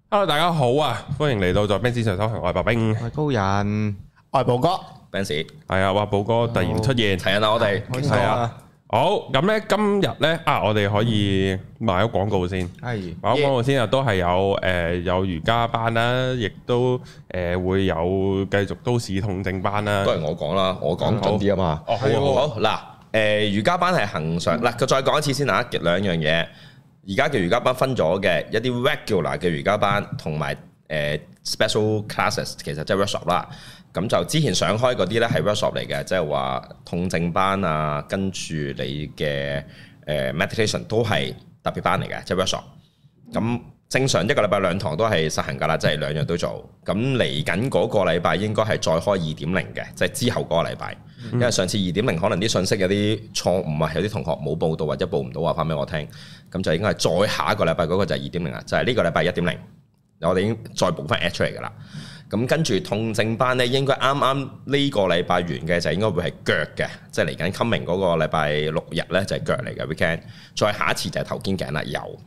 Hello， 大家好啊！歡迎嚟到在 Benz 上修行，我係白兵， 我係高人， 我係寶哥 Benz 係啊，話寶哥突然出現， 齊人啦，我哋係啊。好，咁咧今日咧我哋可以賣咗廣告先，賣咗廣告先啊，都係有瑜伽班啦，亦都會有繼續都市痛症班啦。 都係我講啦，我講準啲啊嘛。 哦，好嗱，瑜伽班係恆常嗱，再講一次先啊，兩樣嘢。而家嘅瑜伽班分咗嘅一啲 regular 嘅瑜伽班，同埋special classes， 其實即係 workshop 啦。咁就之前上開嗰啲咧係 workshop 嚟嘅，即係話痛症班啊，跟住你嘅meditation 都係特別班嚟嘅，即係 workshop。咁正常一個禮拜兩堂都係實行㗎啦，即係兩樣都做。咁嚟緊嗰個禮拜應該係再開 2.0 嘅，即係之後嗰個禮拜。因為上次 2.0 可能啲信息有啲錯誤啊，有啲同學冇報到或者報唔到話翻俾我聽，咁就應該係再下一個禮拜嗰個就係 2.0 啦，就係呢個禮拜 1.0， 我哋已經再補翻 add 出嚟㗎啦。咁跟住痛症班咧，應該啱啱呢個禮拜完嘅就應該會係腳嘅，即係嚟緊 coming 嗰個禮拜6日咧就係腳嚟嘅 weekend， 再下一次就係頭肩頸啦，有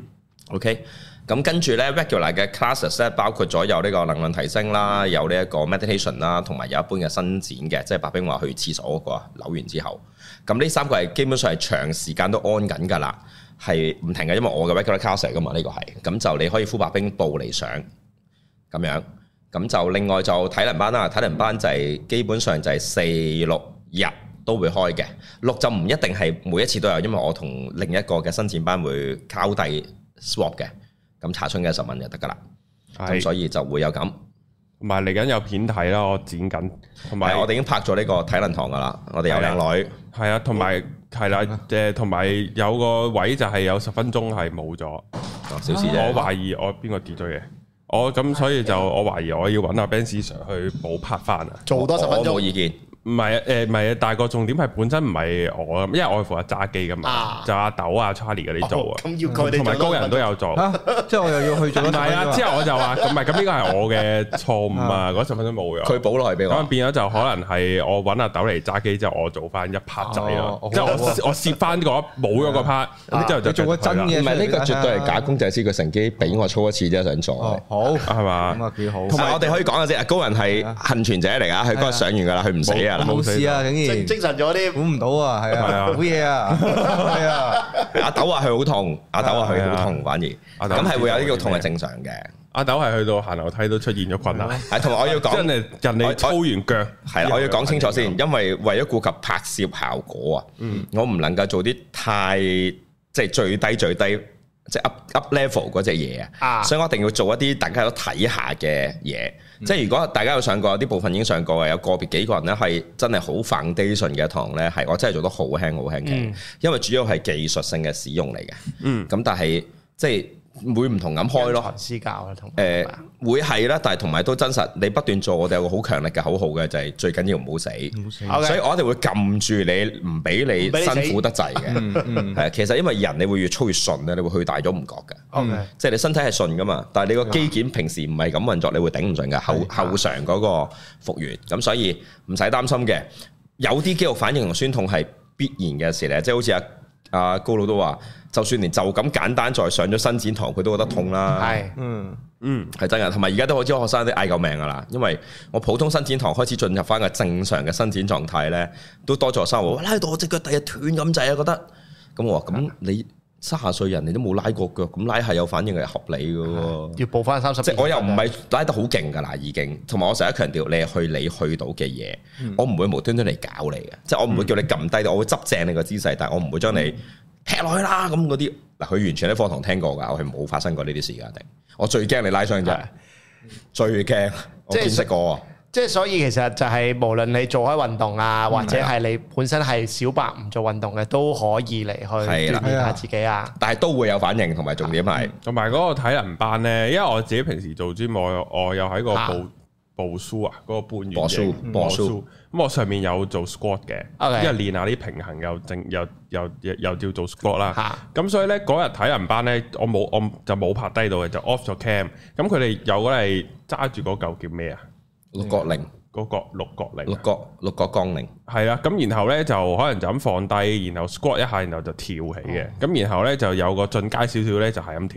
OK。咁跟住咧 regular 嘅 classes 咧，包括咗有呢個能量提升啦，有呢一個 meditation 啦，同埋有一般嘅伸展嘅，即係白兵話去廁所嗰個扭完之後，咁呢三個係基本上係長時間都安緊㗎啦，係唔停嘅，因為我嘅 regular class 嚟㗎嘛，呢個係，咁就你可以呼白兵報嚟上咁樣，咁就另外就體能班啦，體能班就係基本上就係4、6日都會開嘅，6就唔一定係每一次都有，因為我同另一個嘅伸展班會交替 swap 嘅。咁查詢嘅10蚊就得噶啦，咁所以就會有咁，同埋嚟緊有片睇啦，我剪緊，同埋我哋已經拍咗呢個體能堂噶啦，我哋有靚女， 係啊，同埋係啦，同埋有個位就係有10分鐘係冇咗， 小事啫。 我懷疑我邊個跌咗嘢，我咁所以就我懷疑我要揾阿 Benz Sir 去補拍翻啊， 做多10分鐘， 我冇意見。 唔係唔係，但係個重點係本身唔係我，因為我係負責揸機噶嘛，就阿豆啊、Charlie 嗰啲做啊， 咁要佢哋同埋高人都有做， 即係我又要去做。 唔係啊，之後我就話唔係，咁呢個係我嘅錯誤啊，嗰10分鐘冇咗， 佢補落去俾我， 咁變咗就可能係我揾阿豆嚟揸機之後，我做翻一 part 仔咯，即係我攝翻嗰冇咗個 part，之後就做個真嘅。 唔係呢個絕對係假公濟私，佢乘機俾我操一次啫，想做。 好係嘛？ 咁啊幾好。 同埋我哋可以講嘅啫，高人係幸存者嚟㗎，佢嗰日上完㗎啦，佢唔死㗎啦， 冇事啊。 精神咗啲， 估唔到啊，係啊，好嘢啊，係啊。 阿豆話佢好痛，阿豆話佢好痛，反而咁係會有呢個痛係正常嘅。 阿豆係去到行樓梯都出現咗困難， 係同埋我要講， 真係人哋操完腳係啦，我要講清楚先，因為為咗顧及拍攝效果啊，我唔能夠做啲太即係最低即係 up level 嗰隻嘢啊，所以我一定要做一啲大家都睇下嘅嘢。即係如果大家有上過，有啲部分已經上過嘅，有個別幾個人咧係真係好 foundation 嘅堂咧，係我真係做得好輕嘅，因為主要係技術性嘅使用嚟嘅。咁但係即係會唔同咁開咯。 私教啦，同會係啦，但係同埋都真實。你不斷做，我哋有個好強力嘅口號嘅，就係最緊要唔好死。所以我哋會撳住你，唔俾你辛苦得滯嘅。係其實因為人你會越操越順咧，你會去大咗唔覺嘅。即係你身體係順噶嘛，但係你個肌腱平時唔係咁運作，你會頂唔順嘅後償嗰個復原。咁所以唔使擔心嘅。有啲肌肉反應同酸痛係必然嘅事咧，即係好似阿高佬都話，就算連就咁簡單再上咗伸展堂，佢都覺得痛啦。係，係真嘅。同埋而家都好多學生都嗌救命噶啦，因為我普通伸展堂開始進入翻個正常嘅伸展狀態咧，都多咗學生話拉到我隻腳第日斷咁滯啊，覺得。咁我話咁你30歲人你都冇拉過腳，咁拉下有反應係合理嘅喎。 要報翻30。 即係我又唔係拉得好勁㗎啦，已經。同埋我成日強調，你係你去到嘅嘢，我唔會無端端嚟搞你嘅。即係我唔會叫你撳低，我會執正你個姿勢，但係我唔會將你劈落去啦咁嗰啲。嗱，佢完全喺課堂聽過㗎，我係冇發生過呢啲事㗎。定我最驚你拉傷啫，最驚我見識過。 即係所以其實就係無論你做開運動啊，或者係你本身係小白唔做運動嘅，都可以嚟去鍛鍊下自己啊。 但係都會有反應，同埋重點係同埋嗰個體能班咧，因為我自己平時做 gym，我有喺個步書啊，嗰個半圓形步書，咁我上面有做 squat 嘅，因為練下啲平衡又叫做 squat 啦。咁所以咧嗰日體能班咧，我就冇拍低到嘅，就 off 咗 cam。咁佢哋有嗰嚟揸住嗰嚿叫咩啊？ 六角鈴， 嗰個六角鈴， 六角槓鈴， 係啦。咁然後咧就可能就咁放低，然後 squat 一下，然後就跳起嘅。咁然後咧就有個進階少少咧，就係咁跳。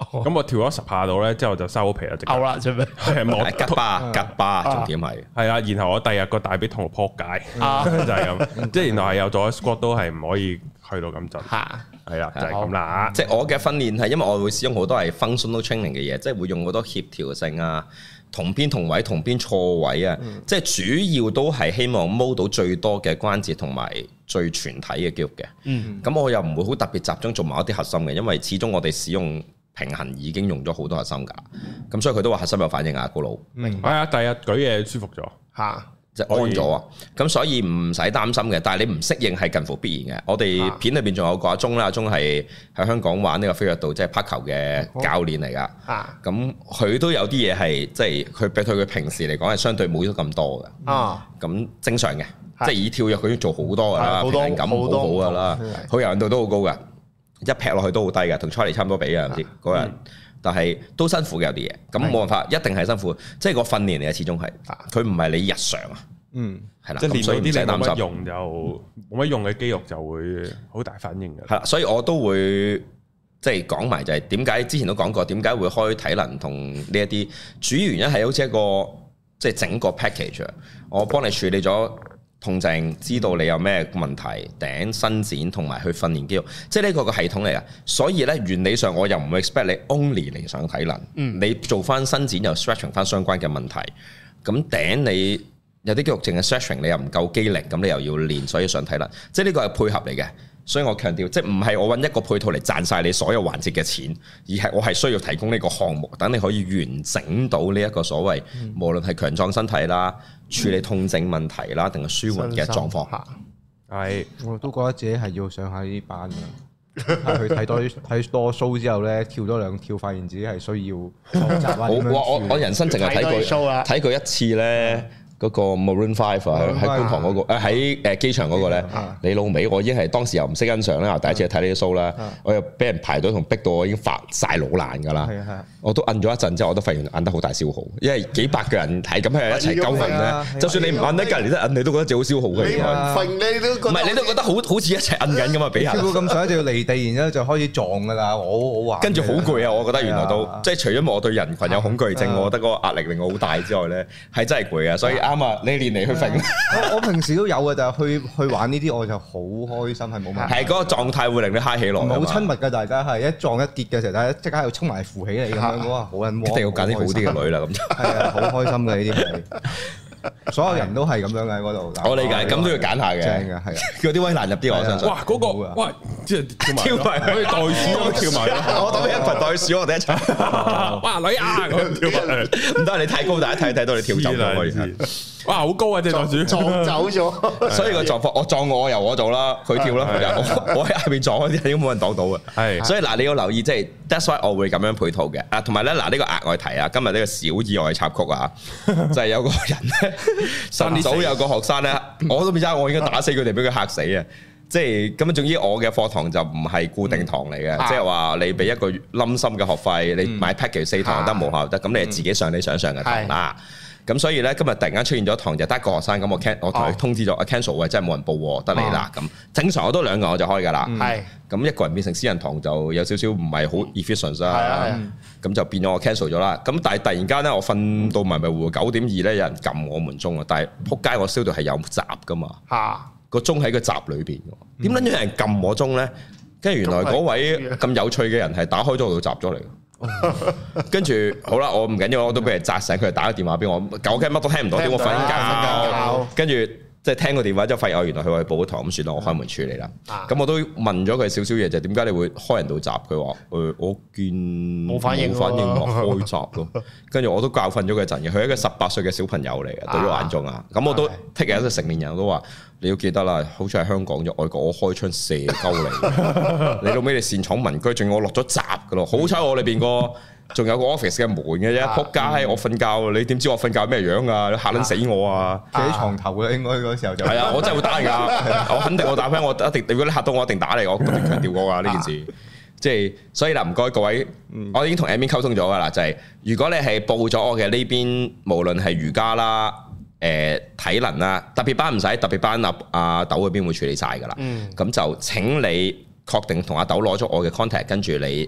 咁我跳咗10下度咧，之後就收皮啦，直啦，做咩？ 係冇吉巴，重點係啊，然後我第日個大髀痛到撲街，就係咁，即係原來係有做 squat 都係唔可以去到咁盡，係啦，就係咁啦。 即係我嘅訓練係因為我會使用好多係 functional training 嘅嘢，即係會用好多協調性啊。同邊同位，同邊錯位啊！即係主要都係希望摸到最多嘅關節同埋最全體嘅肌肉嘅。咁我又唔會好特別集中做某一啲核心嘅，因為始終我哋使用平衡已經用咗好多核心㗎。咁所以佢都話核心有反應啊，高佬。 明白啊！第日舉嘢舒服咗嚇。 即係安咗啊！咁所以唔使擔心嘅，但係你唔適應係近乎必然嘅。我哋片裏邊仲有個阿鐘啦，阿鐘係喺香港玩呢個飛躍道即係拍球嘅教練嚟㗎。咁佢都有啲嘢係即係佢比佢平時嚟講係相對冇咗咁多嘅。咁正常嘅，即係以跳躍佢已經做好多㗎啦，平衡感好好㗎啦，佢柔韌度都好高㗎，一劈落去都好低㗎，同 Charlie 差唔多比啊，唔知嗰人。但係都辛苦嘅有啲嘢，咁冇辦法，一定係辛苦，即係個訓練嚟嘅，始終係，佢唔係你日常啊，係啦， 即係練到啲你冇乜擔心用就冇乜用嘅肌肉就會好大反應嘅。 係啦，所以我都會即係講埋就係點解之前都講過，點解會開體能同呢一啲主要原因係好似一個即係整個 package，我幫你處理咗痛症，知道你有咩問題，頂伸展同埋去訓練肌肉，即係呢個個系統嚟啊！所以咧原理上我又唔會 expect 你 only 嚟上體能，你做翻伸展又 stretching 翻相關嘅問題，咁頂你有啲肌肉淨係 stretching 你又唔夠肌力，咁你又要練，所以上體能，即係呢個係配合嚟嘅。所以我強調，即係唔係我揾一個配套嚟賺晒你所有環節嘅錢，而係我係需要提供呢個項目，等你可以完整到呢一個所謂，無論係強壯身體啦、處理痛症問題啦，定係舒緩嘅狀況下。係， 我都覺得自己係要上下呢啲班嘅，係去睇多 show 之後咧，跳多2跳，發現自己係需要學習啊。 我人生淨係睇過一次咧。嗰個 Maroon 5喺觀塘嗰個，喺機場嗰個咧，你老味，我已經係當時又唔識欣賞啦，第一次睇呢啲 show 啦，我又俾人排隊同逼到我已經發晒老爛㗎啦，我都摁咗一陣之後，我都發現摁得好大消耗，因為幾百個人係咁喺一齊鳩摁咧，就算你唔摁得隔離都摁，你都覺得自己好消耗嘅。唔係你都覺得好似一齊摁緊咁啊！俾人跳到咁上一就要離地，然之後就開始撞㗎啦，我話跟住好攰啊！我覺得原來都即係除咗我對人群有恐懼症，我覺得嗰個壓力令我好大之外咧，係真係攰啊！所以啱啊，你練嚟去揈。 我平時都有嘅，就係去玩呢啲，我就好開心，係冇問題。 係嗰個狀態會令你嗨起來。 唔係好親密嘅，大家係一撞一跌嘅時候，大家即刻喺度衝埋扶起你咁樣，哇！好撚窩。 一定要揀啲好啲嘅女啦，咁就係啊，好開心嘅呢啲係。所有人都係咁樣嘅嗰度。 我理解，咁都要揀下嘅。 正嘅，係啊。 叫啲威難入啲，我相信。 哇！嗰個哇，即係跳埋可以袋鼠咁跳埋。 我等你一群袋鼠，我哋一齊。 哇！女啊，咁跳埋。 唔得，你太高，大家睇到你跳走咗。哇！好高啊，隻袋鼠撞走咗。 所以個狀況，我撞我由我做啦，佢跳啦。我喺下邊撞嗰啲，應該冇人擋到嘅。係。所以嗱，你要留意，即係 that's why 我會咁樣配套嘅。啊，同埋咧，嗱呢個額外提啊，今日呢個小意外插曲啊，就係有個人咧。晨早有個學生咧，我都唔知，我應該打死佢哋，俾佢嚇死啊！即係咁樣，總之我嘅課堂就唔係固定堂嚟嘅，即係話你俾一個冧心嘅學費，你買 package 4堂得，無效得，咁你係自己上你想上嘅堂啦。咁所以咧，今日突然間出現咗堂就得一個學生，咁我同佢通知咗 cancel 喂，真係冇人報喎，得你啦。咁正常我都2個我就開㗎啦。係咁一個人變成私人堂就有少少唔係好 efficient 啦。咁就變咗我 cancel 咗啦。咁但係突然間咧，我瞓到迷迷糊糊9:02咧，有人撳我門鐘啊！但係撲街，我燒到係有閘㗎嘛。個鐘喺個閘裏邊，點解有人撳我鐘咧？跟住原來嗰位咁有趣嘅人係打開咗個閘咗嚟。跟住好啦，我唔緊要，我都俾人砸醒，佢打個電話俾我，狗雞乜都聽唔到，點我瞓覺？跟住即係聽個電話之後，發現原來佢話報咗堂，咁算啦，我開門處理啦。咁我都問咗佢少少嘢，就點解你會開人到閘？佢話我見冇反應，開閘咯。跟住我都教訓咗佢一陣嘅，佢係一個18歲嘅小朋友嚟嘅，對於我眼中啊。咁我都剔嘅一個成年人，我都話你要記得啦，好似喺香港啫，外國我開槍射鳩你，你到尾你擅闖民居，仲要我落咗閘噶咯。好彩我裏邊仲有個 office 嘅門嘅啫，仆街！我瞓覺，你點知我瞓覺咩樣啊？你嚇撚死我啊！ 企喺床頭嘅應該嗰時候就係啊！我真係會打人㗎，我肯定我打翻，我一定。如果你嚇到我，一定打你，我不斷強調過㗎呢件事。即係所以嗱，唔該各位，我已經同 admin 溝通咗㗎啦，就係如果你係報咗我嘅呢邊，無論係瑜伽啦、體能啦，特別班唔使，特別班阿豆嗰邊會處理晒㗎啦。咁就請你確定同阿豆攞咗我嘅 contact，跟住你。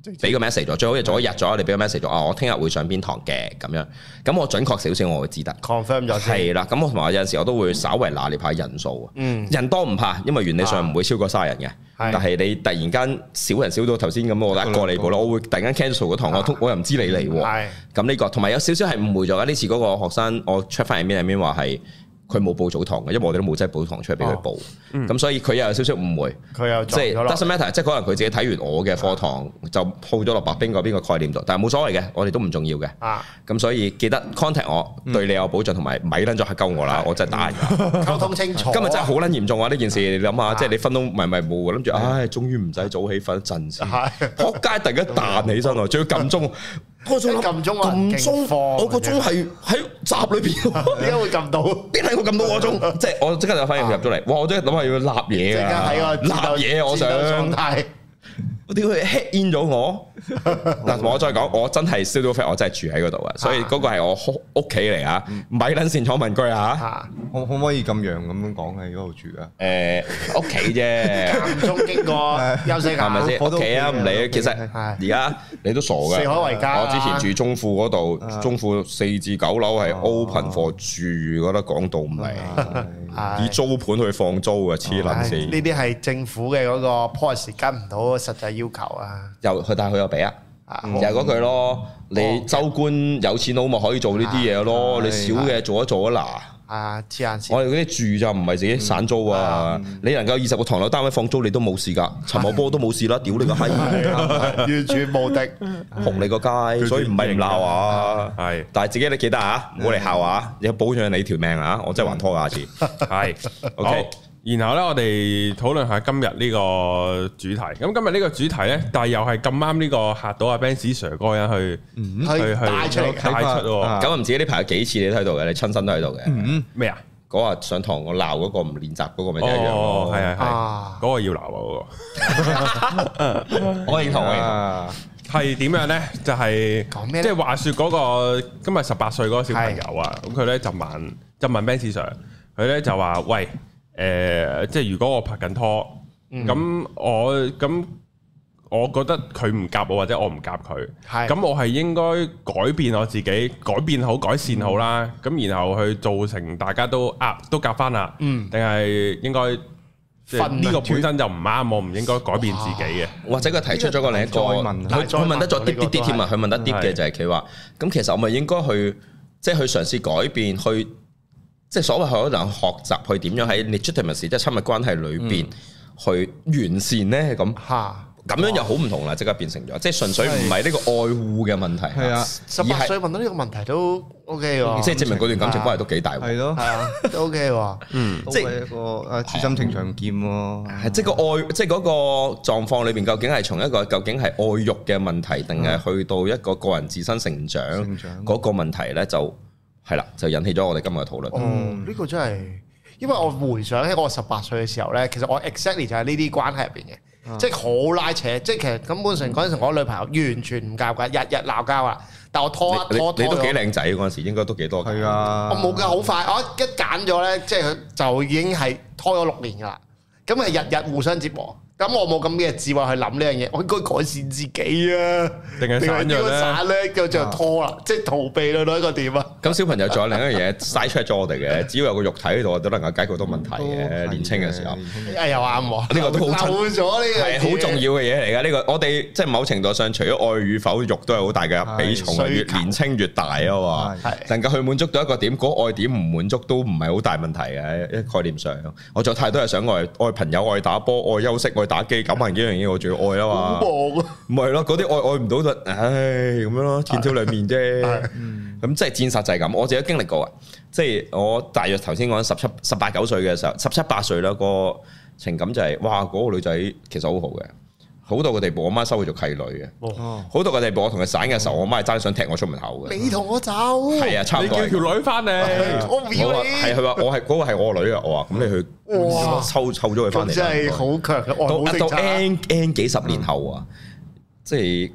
俾個 message 咗，最好就早一日咗，你俾個 message 咗，我聽日會上邊堂嘅咁樣，咁我準確少少我會知得 confirm 咗先。 係啦，咁我同埋有陣時我都會稍微拿捏下人數，人多唔怕，因為原理上唔會超過30人嘅，但係你突然間少人少到頭先咁，我一個嚟過咯，我會突然間 cancel 嗰堂，我又唔知你嚟喎，咁呢個同埋有少少係誤會咗，呢次嗰個學生我 check 翻入面話係。佢冇報早堂嘅，因為我哋都冇真係報堂出嚟俾佢報，咁所以佢又有少少誤會，佢又即係 doesn't matter，即係可能佢自己睇完我嘅課堂就鋪咗落白兵嗰邊個概念度，但係冇所謂嘅，我哋都唔重要嘅，咁所以記得 contact 我，對你有保障，同埋咪撚咗嚇鳩我啦，我真係打人㗎， 溝通清楚。 今日真係好撚嚴重啊！呢件事你諗下，即係你分都迷霧，諗住唉，終於唔使早起瞓一陣先，撲街突然間彈起身喎，仲要撳鐘。我仲撳鐘啊！撳鐘，我個鐘係喺閘裏邊，點解會撳到？邊係我撳到我鐘？即係我即刻就反應入咗嚟，哇！我真係諗下要立嘢啊！立嘢，我想。我點會 hit in 咗我？嗱，我再講，我真係 studio flat，我真係住喺嗰度啊，所以嗰個係我屋企嚟啊，咪撚線坐民居啊！ 可唔可以咁樣咁樣講喺嗰度住啊？ 屋企啫，間中經過休息下，係咪先？屋企啊，唔理。其實而家你都傻㗎。四海為家。我之前住中富嗰度，中富4至9樓係 open for 住，覺得講到唔嚟，以租盤去放租啊，黐撚線。呢啲係政府嘅嗰個 policy 跟唔到實際要求啊。 但係佢又俾啊，又係嗰句咯。你州官有錢佬咪可以做呢啲嘢咯，你少嘅做一做啊嗱。 黐眼線。 我哋嗰啲住就唔係自己散租啊，你能夠20個唐樓單位放租你都冇事㗎，陳茂波都冇事啦，屌你個閪， 完全無敵， 紅你個街，所以唔係唔鬧啊，係，但係自己你記得啊，唔好嚟笑啊，要保障你條命啊，我真係還拖下次，係，OK。 然後咧，我哋討論下今日呢個主題。咁今日呢個主題咧，但係又係咁啱呢個嚇到阿 Benz Sir 嗰個人去帶出喎。 咁唔知呢排有幾次你都喺度嘅，你親身都喺度嘅。 咩啊？ 嗰日上堂我鬧嗰個唔練習嗰個咪一樣咯。係嗰個要鬧啊嗰個。我認同係點樣咧？就係即係話説嗰個今日18歲嗰個小朋友啊，咁佢咧就問 Benz Sir，佢咧就話喂。即係如果我拍緊拖，咁我覺得佢唔夾我或者我唔夾佢，咁我係應該改變我自己，改變好改善好啦，咁然後去造成大家都夾翻啦，定係應該呢個本身就唔啱，我唔應該改變自己嘅，或者佢提出咗個另一個，佢問得咗啲添啊，佢問得啲嘅就係佢話，咁其實我咪應該去即係去嘗試改變去。即係所謂可能學習去點樣喺 legitimacy 即係親密關係裏邊去完善咧咁樣又好唔同啦，即刻變成咗，即係純粹唔係呢個愛護嘅問題。係啊 ，18歲問到呢個問題都 OK 喎， 即係證明嗰段感情關係都幾大。 係咯，係啊， 都 OK 喎。 即係一個知心情長劍喎。 係即係個愛，即係嗰個狀況裏邊，究竟係從一個究竟係愛欲嘅問題，定係去到一個個人自身成長嗰個問題咧？就係啦，就引起咗我哋今日嘅討論。 呢個真係，因為我回想起我18歲嘅時候咧，其實我 exactly 就係呢啲關係入邊嘅，即係好拉扯，即係其實根本上嗰陣時我女朋友完全唔夾㗎，日日鬧交啊！但我拖你都幾靚仔嗰陣時，應該都幾多㗎。 係啊， 我冇㗎，好快，我一揀咗咧，即係就已經係拖咗6年㗎啦。咁係日日互相折磨。咁我冇咁嘅智慧去諗呢樣嘢，我應該改善自己啊，定係散咧？咁就拖啦，即係逃避啦，一個點啊？ 咁小朋友仲有另一樣嘢嘥出咗我哋嘅，只要有個肉體喺度，都能夠解決到問題嘅。年青嘅時候， 又啱喎， 呢個都好漏咗呢個係好重要嘅嘢嚟㗎。呢個我哋即係某程度上，除咗愛與否，肉都係好大嘅比重，越年青越大啊嘛。能夠去滿足到一個點，嗰愛點唔滿足都唔係好大問題嘅。一概念上，我仲有太多係想愛朋友、愛打波、愛休息、愛打機9萬幾樣嘢，我仲要愛啊嘛，唔係咯，嗰啲愛唔到就，唉咁樣咯，天挑兩面啫。咁即係現實就係咁，我自己經歷過啊。即係我大約頭先講18、19歲嘅時候，17、18歲啦，個情感就係，哇，嗰個女仔其實好好嘅，好到個地步，我媽收佢做契女嘅，好到個地步，我同佢散嘅時候，我媽係爭想踢我出門口嘅。 你同我走， 係啊，差唔多。 你叫條女翻嚟， 我唔要你。 係佢話我係嗰個係我女啊，我話咁你去湊咗佢翻嚟。 真係好強嘅愛好政策。 到 N 幾十年後啊，即係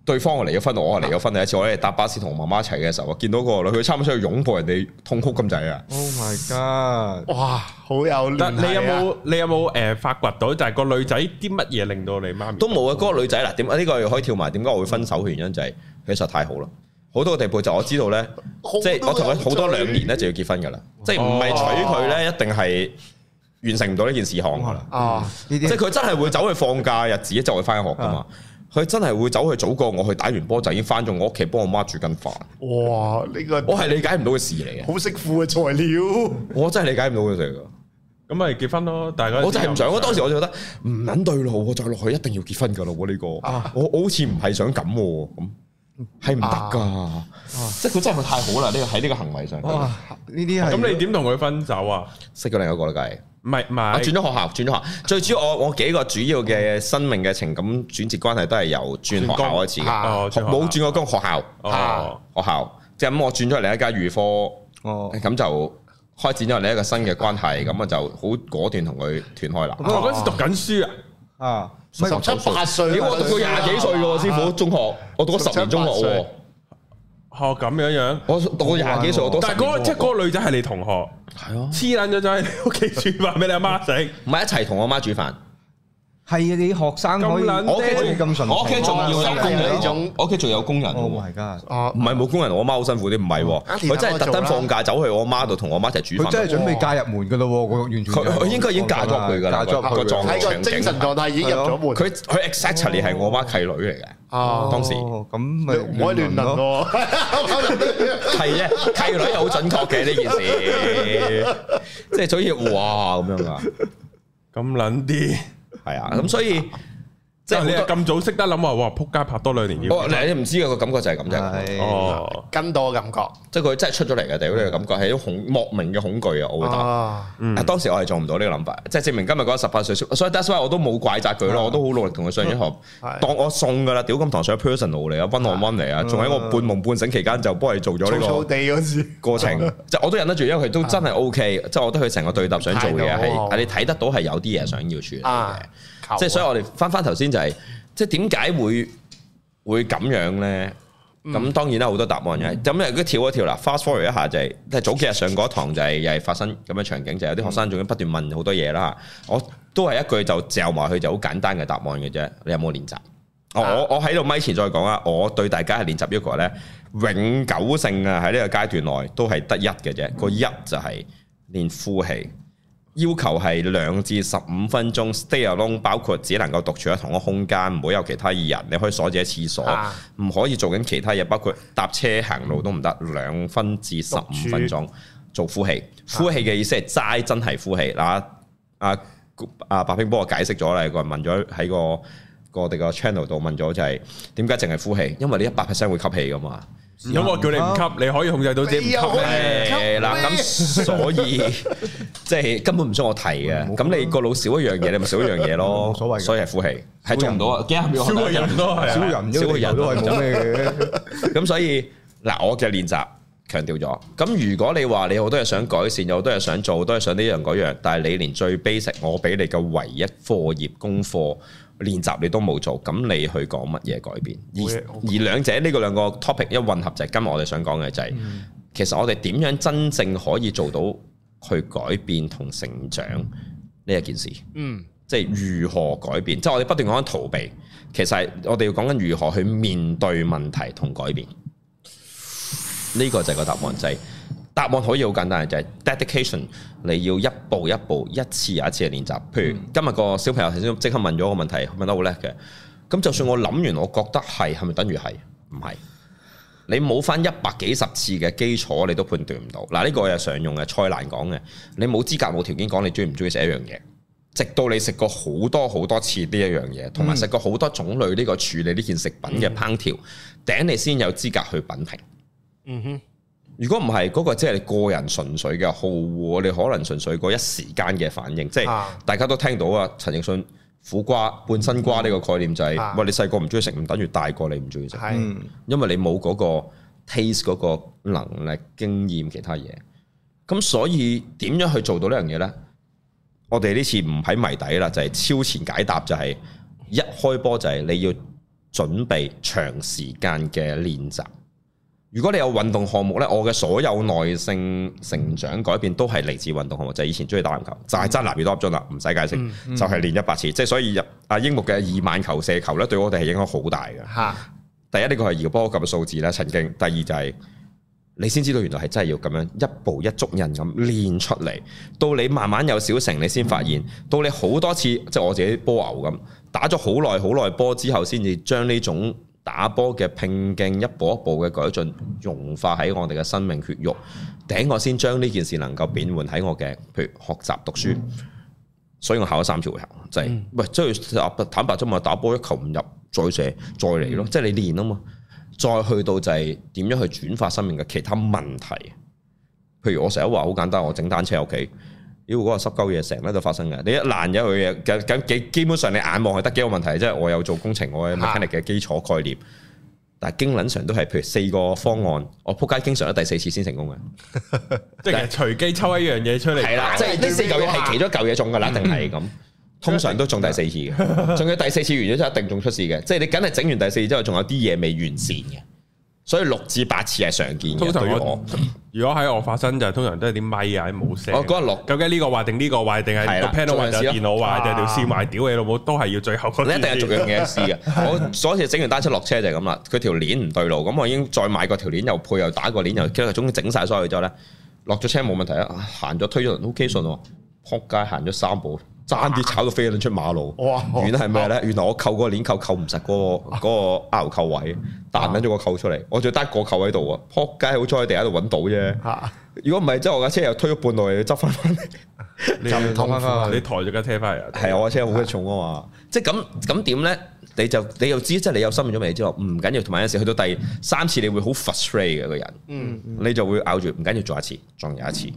對方我離咗婚，我係離咗婚第一次，我哋搭巴士同我媽媽一齊嘅時候，我見到個女佢差唔多想去擁抱人哋痛哭咁滯啊 ！Oh my god！ 哇，好有聯繫啊！ 你有冇發掘到就係個女仔啲乜嘢令到你媽咪都冇啊？嗰個女仔嗱，點解呢個可以跳埋？點解我會分手嘅原因就係佢實在太好啦，好多個地步就我知道咧，即係我同佢好多2年咧就要結婚噶啦，即係唔係娶佢咧一定係完成唔到呢件事項噶啦。即係佢真係會走去放假日子就去翻學噶嘛。佢真係會走去早過我去打完波就已經翻咗我屋企幫我媽煮緊飯。 哇！呢個我係理解唔到嘅事嚟嘅， 好識富嘅材料。我真係理解唔到嘅事嚟㗎。 咁咪結婚咯，大家。 我真係唔想，我當時我就覺得唔撚對路，我再落去一定要結婚㗎咯。呢個我好似唔係想咁喎，咁係唔得㗎。即係佢真係太好啦！呢個喺呢個行為上。 呢啲係。 咁你點同佢分手啊？ 識咗另一個啦，梗係。唔係， 我轉咗學校。最主要我幾個主要嘅生命嘅情感轉折關係都係由轉學校開始嘅，冇轉過工學校。學校即係咁，我轉咗另一間預科，咁就開展咗另一個新嘅關係，咁我就好果斷同佢斷開啦。 我嗰時讀緊書啊，17、18歲， 我讀到20幾歲嘅喎，師傅中學，我讀咗10年中學喎。 咁樣，我讀到 20幾歲，我都但係即係嗰個女仔係你同學，係啊，黐撚咗就喺屋企煮飯俾你阿媽食， 唔係一齊同我媽煮飯。 係啊，你學生可以，我屋企仲要有工人，我屋企仲有工人。 Oh my god！ 唔係冇工人，我媽好辛苦啲，唔係，佢真係特登放假走去我媽度同我媽一齊煮飯。 佢真係準備嫁入門噶咯，我完全。 佢應該已經嫁咗佢噶啦，個狀態精神狀態已經入咗門。 佢 exactly 係我媽契女嚟嘅。當時咁咪唔可以亂倫咯。 係啊，契女係好準確嘅呢件事，即係所以哇咁樣啊， 咁撚啲。 係啊，咁所以即係你咁早識得諗話，哇！撲街拍多2年要。 你唔知個感覺就係咁啫。 哦，跟到嘅感覺，即係佢真係出咗嚟嘅，屌呢個感覺係一種莫名嘅恐懼啊！我會答。當時我係做唔到呢個諗法，即係證明今日嗰18歲，所以 that's why 我都冇怪責佢咯，我都好努力同佢上咗學，當我送噶啦，屌咁堂上 personal 嚟啊，one on one嚟啊，仲喺我半夢半醒期間就幫佢做咗呢個地嗰時過程，即係我都忍得住，因為佢都真係 OK，即係我覺得佢成個對答想做嘅係你睇得到係有啲嘢想要處理嘅。即係所以我哋翻頭先就係，即係點解會咁樣咧？咁當然啦，好多答案嘅。咁如果跳一跳啦 ，fast forward 一下就係，即係早幾日上嗰堂就係又係發生咁嘅場景，就係有啲學生仲要不斷問好多嘢啦。我都係一句就嚼埋去就好簡單嘅答案嘅啫。你有冇練習？我喺度咪前再講啊！我對大家係練習一個咧永久性啊，喺呢個階段內都係得一嘅啫。個一就係練呼氣。要求係2至15分鐘 stay alone， 包括只能夠獨處喺同一個空間，唔好有其他人。你可以鎖住喺廁所，唔可以做緊其他嘢，包括搭車行路都唔得。2分至15分鐘做呼氣。呼氣嘅意思係齋真係呼氣。嗱，阿白兵幫我解釋咗啦，個人問咗喺個我哋個 channel 度問咗就係點解淨係呼氣？因為你100% 會吸氣噶嘛。 咁我叫你唔吸，你可以控制到自己唔吸咧。 嗱，咁所以即係根本唔需要我提嘅。咁你個腦少一樣嘢，你咪少一樣嘢咯。冇所謂，所以係呼氣，係做唔到啊！幾廿秒，少個人都係，少個人都係冇咩嘅。咁所以嗱，我嘅練習強調咗。咁如果你話你好多嘢想改善，有好多嘢想做，好多嘢想呢樣嗰樣，但係你連最 basic 我俾你嘅唯一課業功課練習你都冇做，咁你去講乜嘢改變？而兩者呢個兩個 topic 一混合就係今日我哋想講嘅就係，其實我哋點樣真正可以做到去改變同成長呢一件事？即係如何改變？即係我哋不斷講緊逃避，其實係我哋要講緊如何去面對問題同改變。呢個就係個答案，就係答案可以好簡單嘅，就係 dedication。你要一步一步、一次又一次嘅練習。譬如今日個小朋友頭先即刻問咗個問題，問得好叻嘅。咁就算我諗完，我覺得係咪等於係？唔係。你冇翻100幾十次嘅基礎，你都判斷唔到。嗱，呢個係常用嘅，蔡瀾講嘅。你冇資格、冇條件講你中唔中意食一樣嘢，直到你食過好多好多次呢一樣嘢，同埋食過好多種類呢個處理呢件食品嘅烹調，頂你先有資格去品評。如果唔係嗰個，即係你個人純粹嘅好惡，你可能純粹過一時間嘅反應。即係大家都聽到啊，陳奕迅苦瓜半生瓜呢個概念就係，喂，你細個唔中意食，唔等於大個你唔中意食，因為你冇嗰個 taste 嗰個能力、經驗其他嘢。咁所以點樣去做到呢樣嘢呢？我哋呢次唔喺謎底啦，就係超前解答，就係一開波就係你要準備長時間嘅練習。如果你有運動項目呢，我嘅所有耐性成長改變都係嚟自運動項目，就係以前中意打籃球，就係爭籃越多粒鐘啦，唔使解釋，就係練100次。即係所以阿櫻木嘅2萬球射球呢，對我哋係影響好大嘅。第一呢個係搖波咁嘅數字啦，曾經。第二就係你先知道原來係真係要咁樣一步一足印咁練出嚟，到你慢慢有小成，你先發現，到你好多次，即係我自己波牛咁打咗好耐波之後，先至將呢種打波嘅拼勁一步一步嘅改進融化喺我哋嘅生命血肉，頂我先將呢件事能夠變換喺我嘅，譬如學習讀書。所以我考咗3次回合，就係喂，即係坦白啫嘛，打波一球唔入再射再嚟咯，即係你練啊嘛，再去到就係點樣去轉化生命嘅其他問題。譬如我成日話好簡單，我整單車喺屋企，如果嗰個濕鳩嘢成日都發生嘅，你一爛咗佢嘅，咁基本上你眼望係得幾個問題，即係我有做工程，我有 mechanic 嘅基礎概念，但係經撚常都係譬如4個方案，我仆街經常都第4次先成功嘅， 即係隨機抽一樣嘢出嚟， 係啦，即係呢4嚿嘢係其中一嚿嘢中㗎啦，定係咁，通常都中第4次嘅，仲有第4次完咗之後一定中出事嘅，即係你梗係整完第4次之後，仲有啲嘢未完善嘅。所以6至8次係常見嘅。通常如果喺我發生就係通常都係啲咪啊，冇聲。 我嗰日落， 究竟呢個壞定呢個壞，定係個 panel 壞定電腦壞定條線壞？屌你老母，都係要最後嗰。你一定係逐樣嘢試嘅。我所以整完單車落車就係咁啦。佢條鏈唔對路，咁我已經再買個條鏈又配又打個鏈又，跟住總之整曬所有之後咧，落咗車冇問題啊。行咗推咗輪 OK 順喎，撲街行咗3步。爭啲炒到飛咗出馬路，原來係咩咧？原來我扣個鏈扣唔實嗰個 R 扣位，彈緊咗個扣出嚟，我仲得個扣喺度啊！撲街好彩喺地下度揾到啫。如果唔係，即係我架車又推咗半路，要執翻翻嚟， 你痛翻你抬咗架車翻嚟。 係我架車好鬼重啊嘛！即係咁點咧？你又知，即係你有心理準備之後，唔緊要。同埋有時去到第3次，你會好 frustrate 嘅個人，你就會咬住唔緊要，做一次，仲有一次。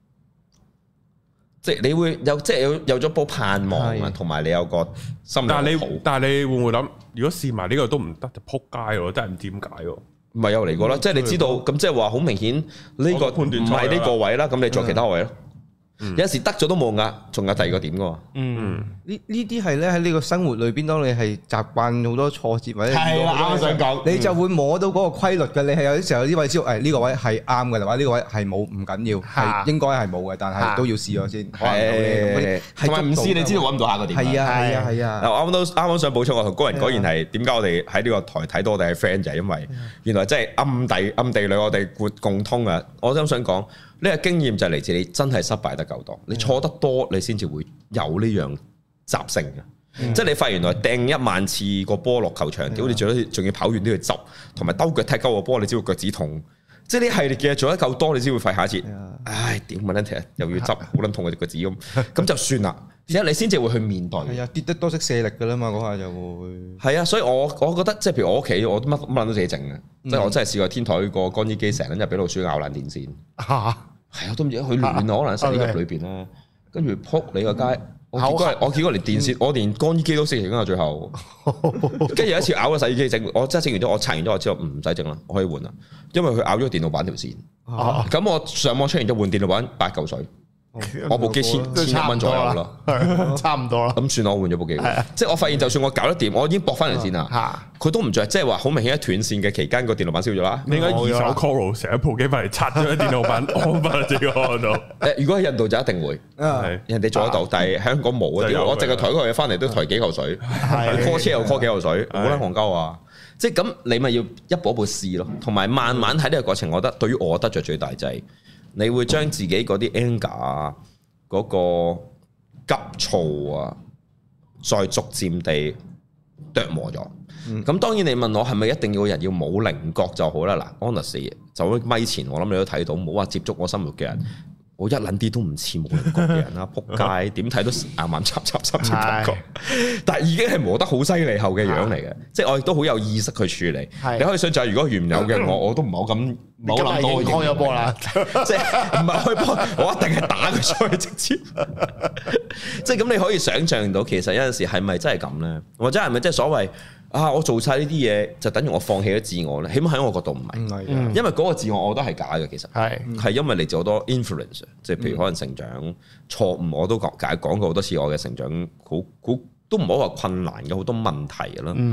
即係你會有即係有咗波盼望啊，同埋你有個心理。 但係你會唔會諗？如果試埋呢個都唔得，就撲街喎！真係唔知點解喎。 唔係有嚟過啦，即係你知道咁，即係話好明顯呢個判斷唔係呢個位啦。咁你做其他位咯。有時得咗都冇㗎，仲有第2個點㗎喎。 呢啲係咧喺呢個生活裏邊，當你係習慣好多挫折或者係啦，我想講， 你就會摸到嗰個規律嘅。你係有啲時候呢位知道，呢個位係啱嘅，或者呢個位係冇唔緊要，係應該係冇嘅，但係都要試咗先。係同埋唔試，你知道揾唔到下個點。 係啊。 啱啱想補充，我同高人果然係點解我哋喺呢個台睇到我哋係 friend 就係因為原來真係暗地裏我哋共通啊！我真想講。呢個經驗就係嚟自你真係失敗得夠多，你錯得多，你先至會有呢樣習性嘅。即係你發現原來掟1萬次個波落球場，屌你仲要跑遠啲去執，同埋兜腳踢鳩個波，你知道腳趾痛。即係呢系列嘅嘢做得夠多，你先會廢下一次。唉，屌乜撚踢又要執，好撚痛嘅腳趾咁就算啦。而且你先至會去面對。係啊，跌得多識卸力㗎啦嘛，嗰下就會。係啊，所以我覺得即係譬如我屋企，我乜撚都自己整嘅。即係我真係試過天台個乾衣機成日俾老鼠咬爛電線。係啊，都唔知佢亂啊，可能塞喺入裏邊啦。跟住撲你個街，我見過連電線，我連乾衣機都識整啊！最後，跟住有一次咬個洗衣機整，我真係整完咗，我拆完咗我之後唔使整啦，我可以換啦，因為佢咬咗電腦板條線。咁我上網出完咗換電腦板8嚿水。我部機1,100蚊左右咯， 差唔多啦。 咁算我換咗部機，即係我發現就算我搞得掂，我已經駁翻嚟線啦。佢都唔着，即係話好明顯喺斷線嘅期間個電腦板燒咗啦。 你應該二手 Call 成一部機翻嚟拆咗啲電腦板安翻自己安到。 如果喺印度就一定會，人哋做得到，但係香港冇啊！我淨係抬嗰個嘢翻嚟都抬幾嚿水，call 車又 call 幾嚿水，好撚戇鳩啊！即係咁，你咪要一步一步試咯，同埋慢慢喺呢個過程，我覺得對於我得着最大就係。你會將自己嗰啲 anger 啊，嗰個急躁啊，再逐漸地琢磨咗。咁當然你問我係咪一定要人要冇稜角就好啦？嗱 ，honest 就喺咪前，我諗你都睇到，冇話接觸我生活嘅人，我一撚啲都唔似冇稜角嘅人啦，仆街點睇都啱插感覺，但係已經係磨得好犀利後嘅樣嚟嘅，即係我亦都好有意識去處理。你可以想象，如果原有嘅我都唔好咁。冇諗到開咗波啦， 即係唔係開波，我一定係打佢出去直接。即係咁，你可以想象到，其實有陣時係咪真係咁咧？或者係咪即係所謂啊？我做晒呢啲嘢就等於我放棄咗自我咧？起碼喺我角度唔係，因為嗰個自我我覺得係假嘅。其實係因為嚟自好多 influence，即係譬如可能成長錯誤，我都講過好多次，我嘅成長好都唔好話困難嘅好多問題啦。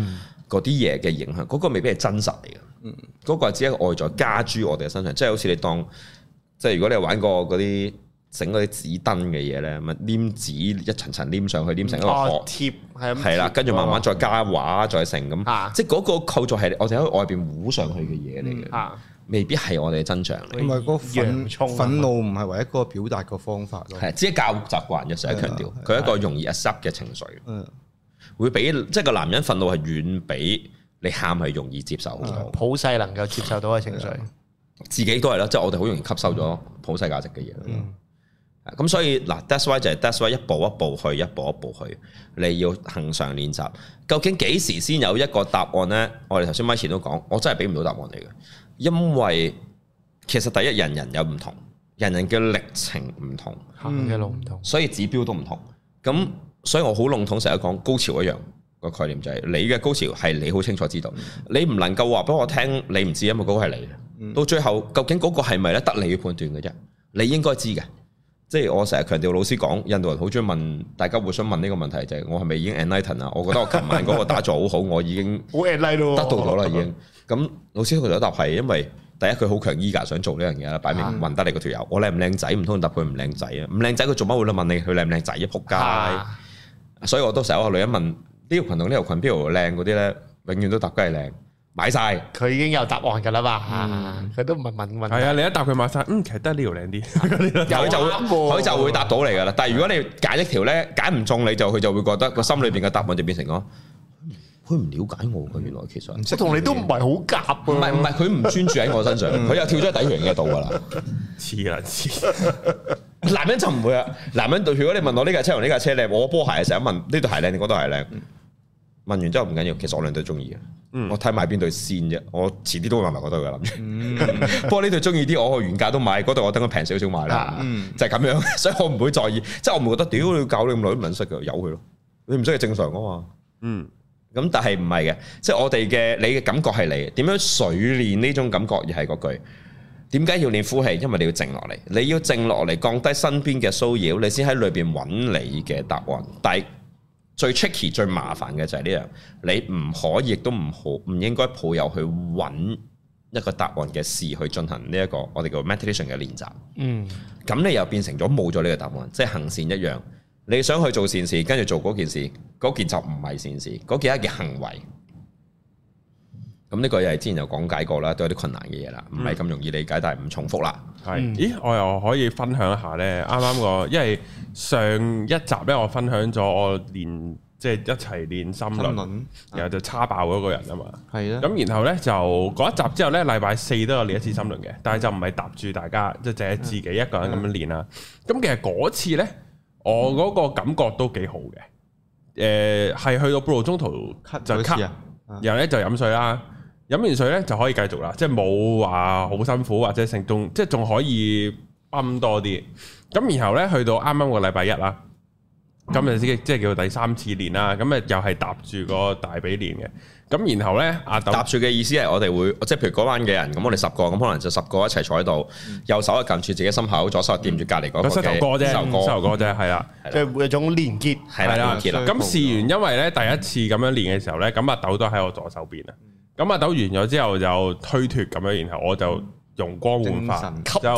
嗰啲嘢嘅影響，嗰個未必係真實嚟嘅。嗰個係只係一個外在加諸我哋嘅身上，即係好似你當，即係如果你有玩過嗰啲整嗰啲紙燈嘅嘢咧，咪黏紙一層層黏上去，黏成一個殼貼，係啦，跟住慢慢再加畫再成咁，即係嗰個構造係我哋喺外邊糊上去嘅嘢嚟嘅，未必係我哋嘅真相嚟。 唔係個憤怒唔係唯一個表達個方法咯， 係只係教習慣嘅，成日強調佢係一個容易 accept 嘅情緒，會比即係個男人憤怒係遠比你喊係容易接受好多， 普世能夠接受到嘅情緒， 自己都係啦，即係我哋好容易吸收咗普世價值嘅嘢。咁所以嗱 that's why 就係 that's why 一步一步去，一步一步去，你要恆常練習。究竟幾時先有一個答案呢？我哋頭先咪前都講，我真係俾唔到答案嚟嘅，因為其實第一人人有唔同，人人嘅歷程唔同， 行嘅路唔同， 所以指標都唔同。咁所以我好籠統成日講高潮一樣個概念就係你嘅高潮係你好清楚知道，你唔能夠話俾我聽你唔知，因為嗰個係你。到最後究竟嗰個係咪咧？得你去判斷嘅啫，你應該知嘅。即係我成日強調，老師講印度人好中意問大家互相問呢個問題，就係我係咪已經 enlighten 啊？我覺得我琴晚嗰個打坐好好，我已經得到咗啦，已經。咁老師佢就答係因為第一佢好強 eager 想做呢樣嘢啦，擺明問得你嗰條友，我靚唔靚仔？唔通答佢唔靚仔啊？唔靚仔佢做乜會問你佢靚唔靚仔啊？仆街！所以我都成日話女人問呢條裙同呢條裙邊度靚嗰啲咧，永遠都答梗係靚。買晒，佢已經有答案㗎啦嘛，佢都唔係問。係啊，你一答佢買晒，其實得呢條靚啲，佢就會答到嚟㗎啦。但係如果你揀一條咧，揀唔中你就佢就會覺得個心裏邊嘅答案就變成咗，佢唔了解我㗎。原來其實我同你都唔係好夾喎。唔係，佢唔專注喺我身上，佢又跳咗喺底緣嘅度㗎啦。黐啦黐，男人就唔會啊。男人如果你問我呢架車同呢架車靚，我波鞋成日問呢對鞋靚定嗰對鞋靚。問完之後唔緊要，其實我兩對中意嘅，我睇埋邊對先啫。我遲啲都會買埋嗰對嘅諗住。不過呢對中意啲，我去原價都買，嗰對我等佢平少少買啦。就係咁樣，所以我唔會在意，即係我唔會覺得屌你搞你咁耐都唔撚識嘅，由佢咯。你唔識係正常噶嘛。咁但係唔係嘅，即係我哋嘅你嘅感覺係你點樣水練呢種感覺，而係嗰句點解要練呼氣？因為你要靜落嚟，你要靜落嚟，降低身邊嘅騷擾，你先喺裏邊揾你嘅答案。但係最 tricky 最麻煩嘅就係呢樣，你唔可以亦都唔應該抱有去揾一個答案嘅事去進行呢一個我哋叫 meditation 嘅練習。咁你又變成咗冇咗呢個答案，即係行善一樣。你想去做善事，跟住做嗰件事，嗰件就唔係善事，嗰件係一件行為。咁呢個又係之前有講解過啦，都有啲困難嘅嘢啦，唔係咁容易理解，但係唔重複啦。咦，我又可以分享一下咧，啱啱個，因為上一集咧，我分享咗我練即係一齊練心輪，然後就叉爆嗰個人啊嘛。係啊。咁然後咧就嗰一集之後咧，禮拜四都有練一次心輪嘅，但係就唔係搭住大家，即係淨係自己一個人咁樣練啦。咁其實嗰次咧，我嗰個感覺都幾好嘅。係去到半路中途就咳，然後咧就飲水啦。飲完水咧就可以繼續啦，即係冇話好辛苦或者成仲即係仲可以泵多啲。咁然後咧去到啱啱個禮拜一啦，咁就即係叫第三次練啦。咁啊又係搭住個大髀練嘅。咁然後咧搭住嘅意思係我哋會即係譬如嗰班嘅人，咁我哋10個，咁可能就10個一齊坐喺度，右手係撳住自己心口，左手係掂住隔離嗰個嘅膝頭哥啫，係啦，即係一種連結，係啦，連結啦。咁試完，因為咧第一次咁樣練嘅時候咧，咁阿豆都喺我左手邊啊。咁阿豆完咗之後就推脫咁樣，然後我就容光煥發，就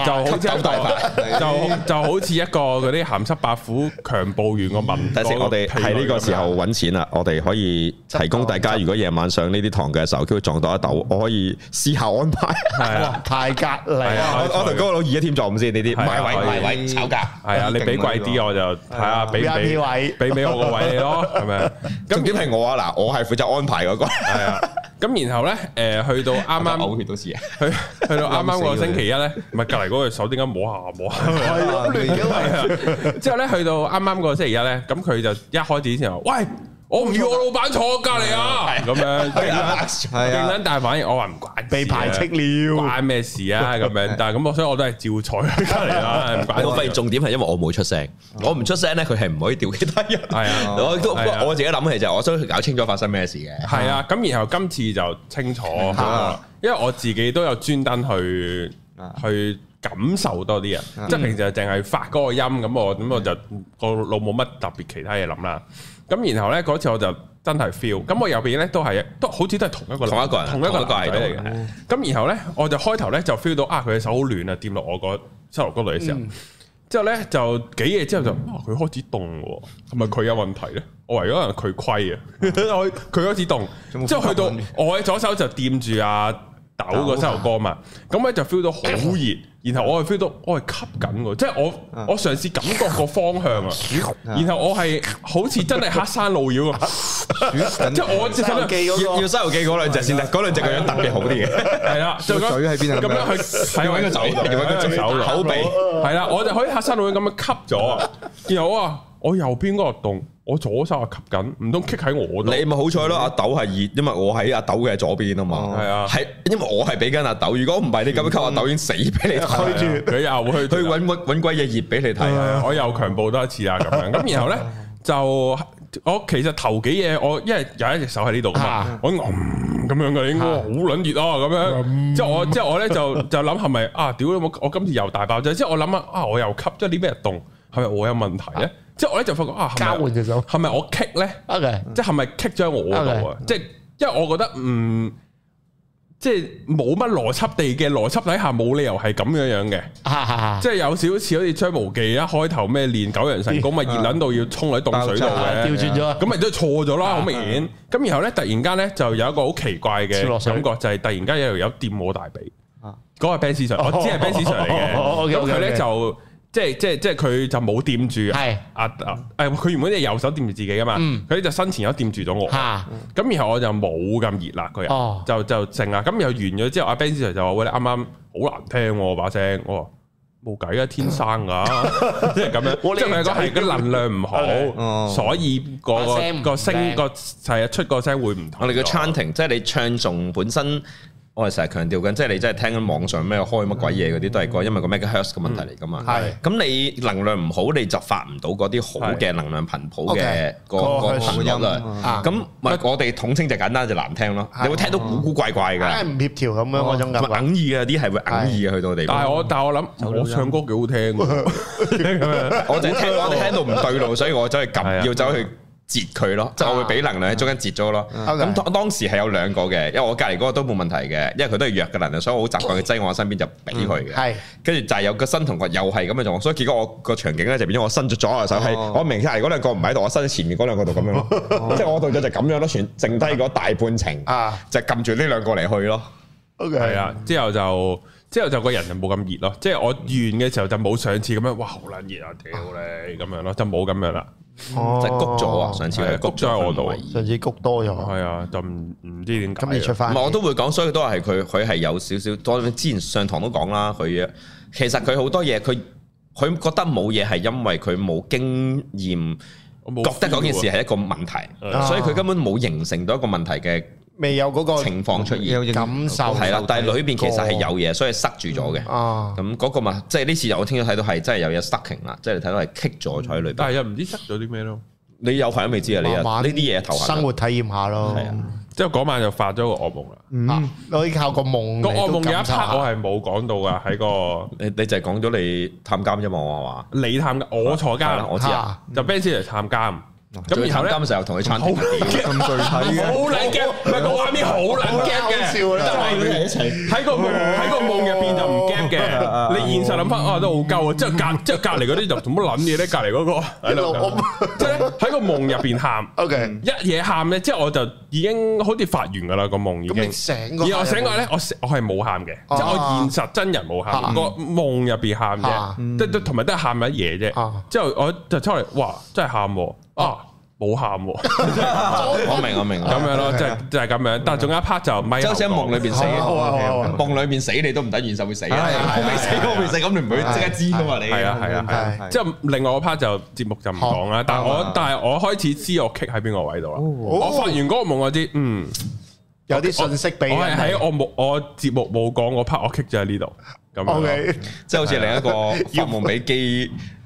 好似一個嗰啲鹹濕白虎強暴完個民。但係我哋喺呢個時候揾錢啦，我哋可以提供大家，如果夜晚上呢啲堂嘅時候，佢會撞到阿豆，我可以私下安排。係啊，太格嚟啊！我同嗰個老二一添撞先呢啲，買位炒價。係啊，你俾貴啲我就睇下俾我個位你咯，係咪？重點係我啊，嗱，我係負責安排嗰個。係啊。咁然後咧，去到啱啱嘔血都試啊！去到啱啱個星期一咧，唔係隔離嗰個手點解摸下？係啊！之後咧，去到啱啱個星期一咧，咁佢就一開始先話：喂！我唔要我老闆坐我隔離啊！咁樣勁撚大反應，我話唔關被排斥了，關咩事啊？咁樣，但係咁，所以我都係照坐喺隔離啦。唔關。我發現重點係因為我冇出聲，我唔出聲咧，佢係唔可以調其他人。係啊，我自己諗起就係我想搞清楚發生咩事嘅。係啊，咁然後今次就清楚，因為我自己都有專登去感受多啲啊，即係平時就淨係發嗰個音咁，我就個腦冇乜特別其他嘢諗啦。咁然後咧嗰次我就真係 feel。咁我右邊咧都好似都係同一個人嚟嘅。咁然後咧我就開頭咧就 feel 到佢嘅手好暖啊，掂落我個膝頭哥度嘅時候。之後咧就幾嘢之後就佢開始凍喎，係咪佢有問題咧？我為咗可能佢虧啊，佢開始凍。之後去到我嘅左手就掂住阿豆個膝頭哥嘛，咁咧就 feel 到好熱，然後我係 feel 到我係吸緊喎，即係我嘗試感覺個方向啊，然後我係好似真係黑山路妖咁，即係我即係要西遊記嗰兩隻先得，嗰兩隻個樣特別好啲嘅， 係啦，就嘴喺邊啊？咁樣去係揾個手，揾個隻手口鼻，係啦，我就可以黑山路妖咁樣吸咗，然後我右邊嗰個洞。我左手吸緊，唔通棘喺我度？你咪好彩咯，阿豆係熱，因為我喺阿豆嘅左邊啊嘛。係啊，係因為我係俾緊阿豆。如果唔係，你咁樣吸阿豆已經死俾你睇住。佢又去揾鬼嘢熱俾你睇。我又強暴多一次啊咁樣。咁然後咧就我其實頭幾嘢，我因為有一隻手喺呢度嘛，我咁樣嘅應該好撚熱啊咁樣。之後我咧就諗係咪屌我今次又大爆炸？之後我諗我又吸咗啲咩凍？係咪我有問題咧？即係我咧就發覺交換隻手係咪我棘咧？即係咪棘咗喺我度啊？即係因為我覺得即係冇乜邏輯地嘅邏輯底下冇理由係咁樣嘅，即係有少少似好似張無忌一開頭咩練九陽神功咪熱撚到要衝喺凍水度嘅，調轉咗，咁咪都錯咗啦，好明顯。咁然後咧突然間咧就有一個好奇怪嘅感覺，就係突然間有條友掂我大髀，嗰個 Benz Sir，我知係 Benz Sir 嚟嘅，咁佢咧就。即係佢就冇掂住佢原本隻右手掂住自己噶嘛，佢呢就身前有掂住咗我，咁然後我就冇咁熱啦，個人就靜啦，咁又完咗之後，阿 Ben Sir 就話喂，你啱啱好難聽把聲，我話冇計啊，天生噶，即係咁樣，即係佢講係個能量唔好，所以個聲個係出個聲會唔同。我哋嘅 chanting 即係你唱誦本身。我係成日強調緊，即係你真係聽緊網上咩開乜鬼嘢嗰啲都係因為個 megahertz 嘅問題嚟㗎嘛。係。咁你能量唔好，你就發唔到嗰啲好嘅能量頻譜嘅個頻率啦。咁咪我哋統稱就簡單就難聽咯。你會聽到古古怪怪㗎，唔協調咁樣嗰種感覺。哽耳嘅啲係會哽耳嘅去到地方。但係我諗我唱歌幾好聽喎。我就聽到唔對路，所以我走去撳，要走去。截佢咯，即係我會俾能量喺中間截咗咯。咁當時係有兩個嘅，因為我隔離嗰個都冇問題嘅，因為佢都係弱嘅能量，所以我好習慣佢擠我身邊就俾佢嘅。係，跟住就係有個身同個又係咁嘅狀況，所以結果我個場景咧就變咗我伸咗左右手，係我明隔離嗰兩個唔喺度，我伸喺前面嗰兩個度咁樣咯。即係我度咗就咁樣咯，剩低嗰大半程就撳住呢兩個嚟去咯。係啊，之後就個人就冇咁熱咯，即係我完嘅時候就冇上次咁樣，哇好撚熱啊屌你咁樣咯，就冇咁樣啦。即係谷咗啊！上次係谷咗喺我度，上次谷多咗，係啊，就唔知點解。咁你出翻，我都會講，所以都係佢係有少少多。之前上堂都講啦，佢其實佢好多嘢，佢覺得冇嘢係因為佢冇經驗，覺得嗰件事係一個問題，所以佢根本冇形成到一個問題嘅。未有嗰個情況出現，感受係啦，但係裏邊其實係有嘢，所以塞住咗嘅。咁嗰個嘛，即係呢次我聽咗睇到係真係有嘢 stucking 啦，即係你睇到係棘咗喺裏邊。但係又唔知塞咗啲咩咯？你有排都未知啊！你啊呢啲嘢頭生活體驗下咯。係啊，之後嗰晚就發咗個噩夢啦。可以靠個夢。個噩夢有一 part 我係冇講到噶，喺個你就係講咗你探監啫嘛，我話你探監，我坐監，我知啊，就 Ben 先嚟探監。咁然後咧，今時又同佢餐廳咁具體嘅，好撚驚，唔係個畫面好撚驚嘅，但係喺個夢入邊就唔驚嘅。你現實諗翻都好鳩啊！即係隔離嗰啲就做乜撚嘢咧？隔離嗰個喺度，即係喺個夢入邊喊。OK，一嘢喊咧，即係我就已經好似發完噶啦個夢已經。然後我醒過咧，我係冇喊嘅，即係我現實真人冇喊，個夢入邊喊啫，即係同埋都係喊一嘢啫。之後我就出嚟，哇！真係喊喎。冇喊喎，我明咁樣咯，就係咁樣。但係仲有一 part 就咪，即係喺夢裏邊死，夢裏邊死你都唔等現實會死，我未死，咁你唔會即刻知噶嘛？你係啊，即係另外個 part 就節目就唔講啦。但係我開始知我 kick 喺邊個位度啦。我發完嗰個夢我知，有啲信息俾我係喺我節目冇講嗰 part，我 kick 咗喺呢度。咁，即係好似另一個發夢俾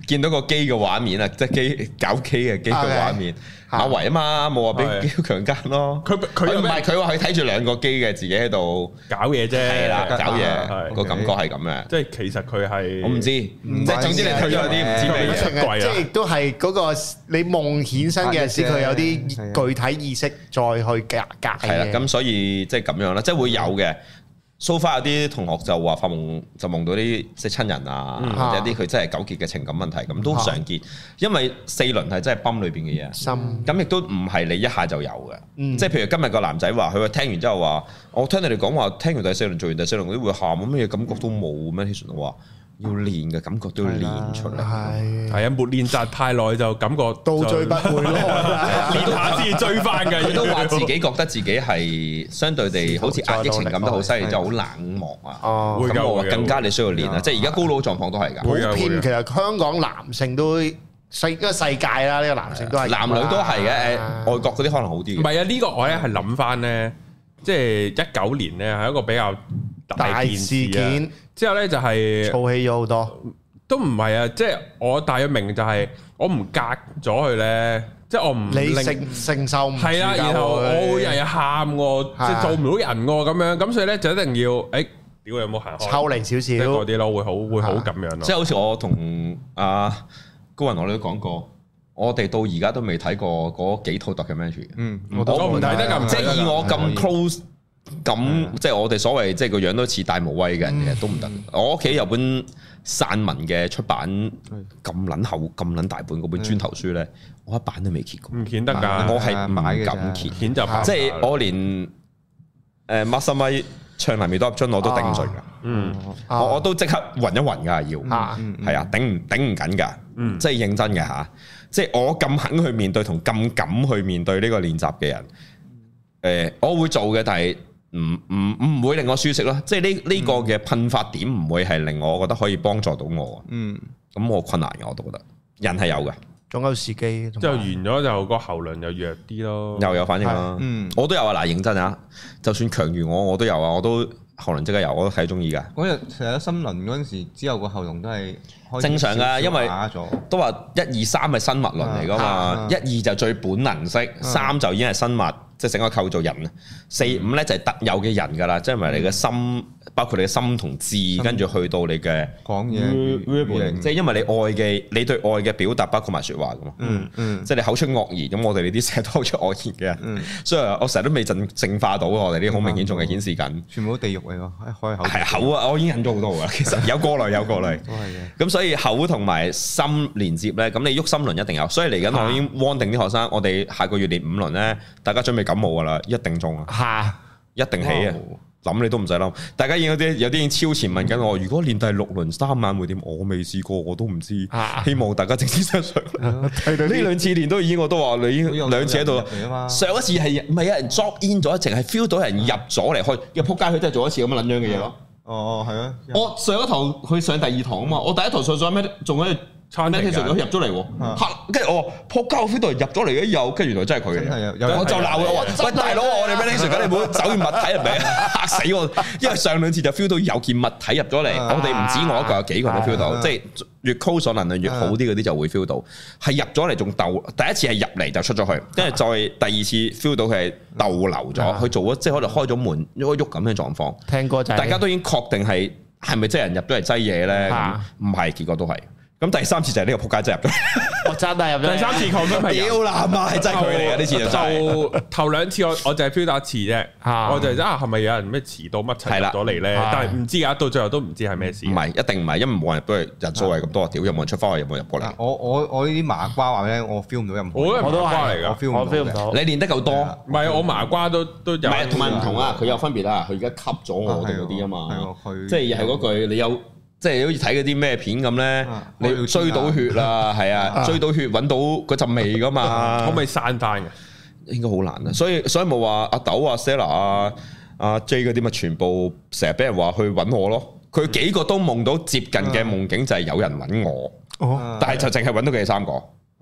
見到個機嘅畫面啊，即係機搞機嘅機嘅畫面。阿維啊嘛，冇話俾機強姦咯。佢唔係佢話佢睇住兩個機嘅，自己喺度搞嘢啫。 係啦，搞嘢個感覺係咁嘅。 即係其實佢係我唔知，即係總之你睇咗啲唔知咩出櫃啊。 即係亦都係嗰個你夢衍生嘅時，佢有啲具體意識再去隔。 係啦，咁所以即係咁樣啦，即係會有嘅。So far 有啲同學就話發夢就夢到啲即係親人啊，或者啲佢真係糾結嘅情感問題，咁都常見。因為4輪係真係泵裏邊嘅嘢，咁亦都唔係你一下就有嘅。即係譬如今日個男仔話，佢話聽完之後話，我聽你哋講話，聽完第4輪做完第4輪嗰啲會喊，乜嘢感覺都冇咩？其實我話要練嘅感覺都要練出嚟。 係啊，沒練習太耐就感覺到最不會咯， 練下先追翻嘅。 佢都話自己覺得自己係相對地好似壓抑情感都好犀利，就好冷漠啊。咁我話更加你需要練啊！即係而家高佬狀況都係㗎。 普遍其實香港男性都世界啦，呢個男性都係男女都係嘅。外國嗰啲可能好啲。 唔係啊，呢個我咧係諗翻咧，即係19年咧係一個比較大事件。之後咧就係燥氣咗好多， 都唔係啊！即係我大約明就係我唔隔咗佢咧，即係我唔你承受唔係啦，然後我會日日喊喎，即係做唔到人喎咁樣，咁所以咧就一定要屌你有冇行開抽離少少嗰啲咯，會好咁樣咯。 即係好似我同阿高雲我哋都講過，我哋到而家都未睇過嗰幾套 documentary。 我唔睇得咁， 即係以我咁 close。咁即係我哋所謂即係個樣都似大無畏嘅人嘅都唔得。我屋企有本散文嘅出版咁撚厚咁撚大本嗰本磚頭書咧，我一版都未揭過。 唔揭得㗎， 我係唔敢揭。 揭就即係我連孖心咪唱嚟未多粒樽我都頂唔順㗎。我都即刻暈一暈㗎要。係啊，頂唔緊㗎。即係認真嘅嚇。即係我咁肯去面對同咁敢去面對呢個練習嘅人，我會做嘅，但係。唔會令我舒適咯，即係呢個嘅噴發點唔會係令我覺得可以幫助到我。咁我困難嘅我都覺得，人係有嘅， 總有時機。 之後完咗就個喉嚨又弱啲咯， 又有反應啦。我都有啊，嗱認真啊，就算強如我都有啊，我都喉嚨即刻有，我都睇中意㗎。 嗰日成日森林嗰陣時，之後個喉嚨都係正常㗎，因為都話1、2、3係生物輪嚟㗎嘛，1、2就最本能式，3就已經係生物。即係整個構造人，4、5咧就係特有嘅人㗎啦，即係因為你嘅心，包括你嘅心同志，跟住去到你嘅講嘢， 即係因為你對愛嘅表達包括埋説話㗎嘛，即係你口出惡言，咁我哋呢啲成日都口出惡言嘅人，所以我成日都未淨化到我哋呢啲好明顯仲係顯示緊， 全部都地獄嚟㗎，開口係口啊，我已經忍咗好多㗎，其實有過濾，都係嘅，咁所以口同埋心連接咧，咁你喐心輪一定有，所以嚟緊我已經 warn 定啲學生，我哋下個月練5輪咧，大家準備感冒噶啦，一定中啊！一定起啊！諗你都唔使諗。大家已經有啲已經超前問緊我，如果練第6輪3晚會點？我未試過，我都唔知。希望大家正式上場。呢2次練都已經我都話你已經2次喺度。上一次係唔係有人 drop in 咗，淨係 feel 到人入咗嚟開，入撲街佢真係做一次咁樣撚樣嘅嘢咯。 哦，係啊！ 我上一堂去上第2堂啊嘛，我第一堂上咩？仲喺度。咩？佢入咗嚟喎，跟住我撲街，我 feel 到入咗嚟嘅又，跟住原來真係佢嘅，我就鬧佢話：喂大佬，我哋 meditation 緊，你唔好走入物體入嚟，嚇死我！因為上2次就 feel 到有件物體入咗嚟，我哋唔止我一個，有幾個人都 feel 到，即係越 close 能量越好啲嗰啲就會 feel 到，係入咗嚟仲逗。第一次係入嚟就出咗去，跟住再第2次 feel 到佢係逗留咗，佢做咗即係可能開咗門喐咁嘅狀況。 聽過就係大家都已經確定係咪真係人入咗嚟擠嘢咧？唔係，結果都係。咁第3次就係呢個撲街真係入咗， 我真係入咗。 第3次抗分係屌啦媽，係真係佢嚟嘅呢次就頭2次我就係 feel 到一次啫，我就係咪有人咩遲到乜齊入咗嚟咧？但係唔知㗎，到最後都唔知係咩事。 唔係一定唔係，因為冇人都係人數係咁多，屌有冇人出翻去，有冇人入過嚟？ 我呢啲麻瓜話咧，我 feel 唔到任何。 我都係嚟㗎， 我 feel 唔到。 你練得夠多， 唔係我麻瓜都有。唔係同埋唔同啊，佢有分別啊，佢而家吸咗我哋嗰啲啊嘛，即係又係嗰句你有。即係好似睇嗰啲咩片咁咧，你追到血啦，係啊，追到血揾到嗰陣味噶嘛， 可唔可以散翻嘅？ 應該好難啊，所以冇話阿豆啊、Stella 啊、阿 J 嗰啲咪全部成日俾人話去揾我咯。佢幾個都夢到接近嘅夢境就係有人揾我，但係就淨係揾到佢哋3個。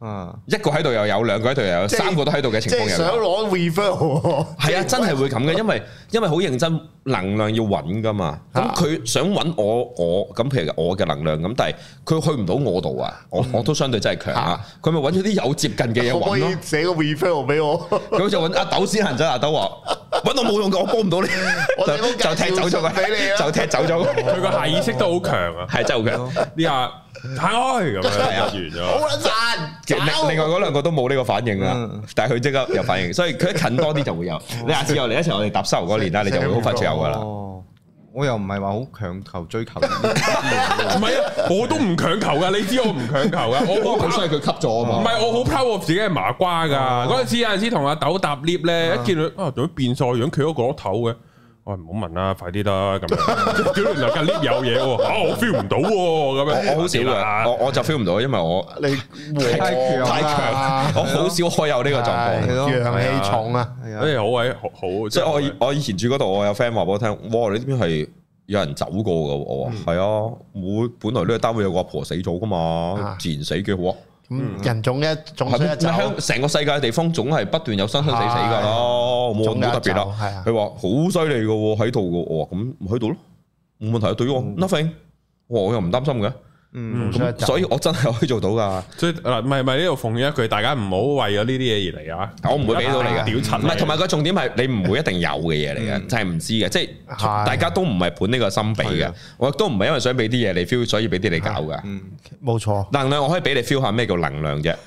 一個喺度又有，兩個喺度又有，三個都喺度嘅情況又有。即係想攞 refill， 係啊，真係會咁嘅，因為好認真，能量要穩噶嘛。咁佢想揾我咁，譬如我嘅能量咁，但係佢去唔到我度啊。我都相對真係強啊。佢咪揾咗啲有接近嘅嘢揾咯。可以寫個 refill 俾我。 佢就揾阿豆先行咗，阿豆話揾我冇用嘅，我幫唔到你，就踢走咗佢，就踢走咗佢個下意識都好強啊， 係真係好強。呢下行開咁樣完咗， 好撚散。 另外嗰兩個都冇呢個反應啊，但係佢即刻有反應，所以佢一近多啲就會有。你下次又嚟一齊，我哋搭收嗰年啦，你就會好快就有噶啦。 我又唔係話好強求追求，唔係啊，我都唔強求噶，你知我唔強求噶，我好衰佢吸咗啊嘛。 唔係我好 proud 我自己係麻瓜噶，嗰陣時有陣時同阿豆搭 lift 咧，一見佢啊，仲變晒樣，企咗個頭嘅。我唔好問啦，快啲啦咁樣。屌，原來間 lift 有嘢喎，我 feel 唔到喎咁樣。 我好少㗎，我就 feel 唔到，因為我太強，我好少可有呢個狀況， 陽氣重啊， 所以好鬼好。 即係我以前住嗰度，我有 friend 話俾我聽，哇！你呢邊係有人走過㗎，我話係啊，我本來呢個單位有個阿婆死咗㗎嘛，自然死幾好啊。 人種一種成個世界嘅地方總係不斷有生生死死噶啦，冇特別啦。佢話好犀利噶喺度噶，我話咁喺度咯，冇問題。對於我 nothing，我又唔擔心嘅。所以我真係可以做到噶。所以嗱，唔係呢度奉勸一句，大家唔好為咗呢啲嘢而嚟啊！ 我唔會俾到你嘅，唔係同埋個重點係你唔會一定有嘅嘢嚟嘅，就係唔知嘅，即係大家都唔係盤呢個心俾嘅，我亦都唔係因為想俾啲嘢你 feel，所以俾啲你搞噶。 冇錯， 能量我可以俾你 feel 下咩叫能量啫。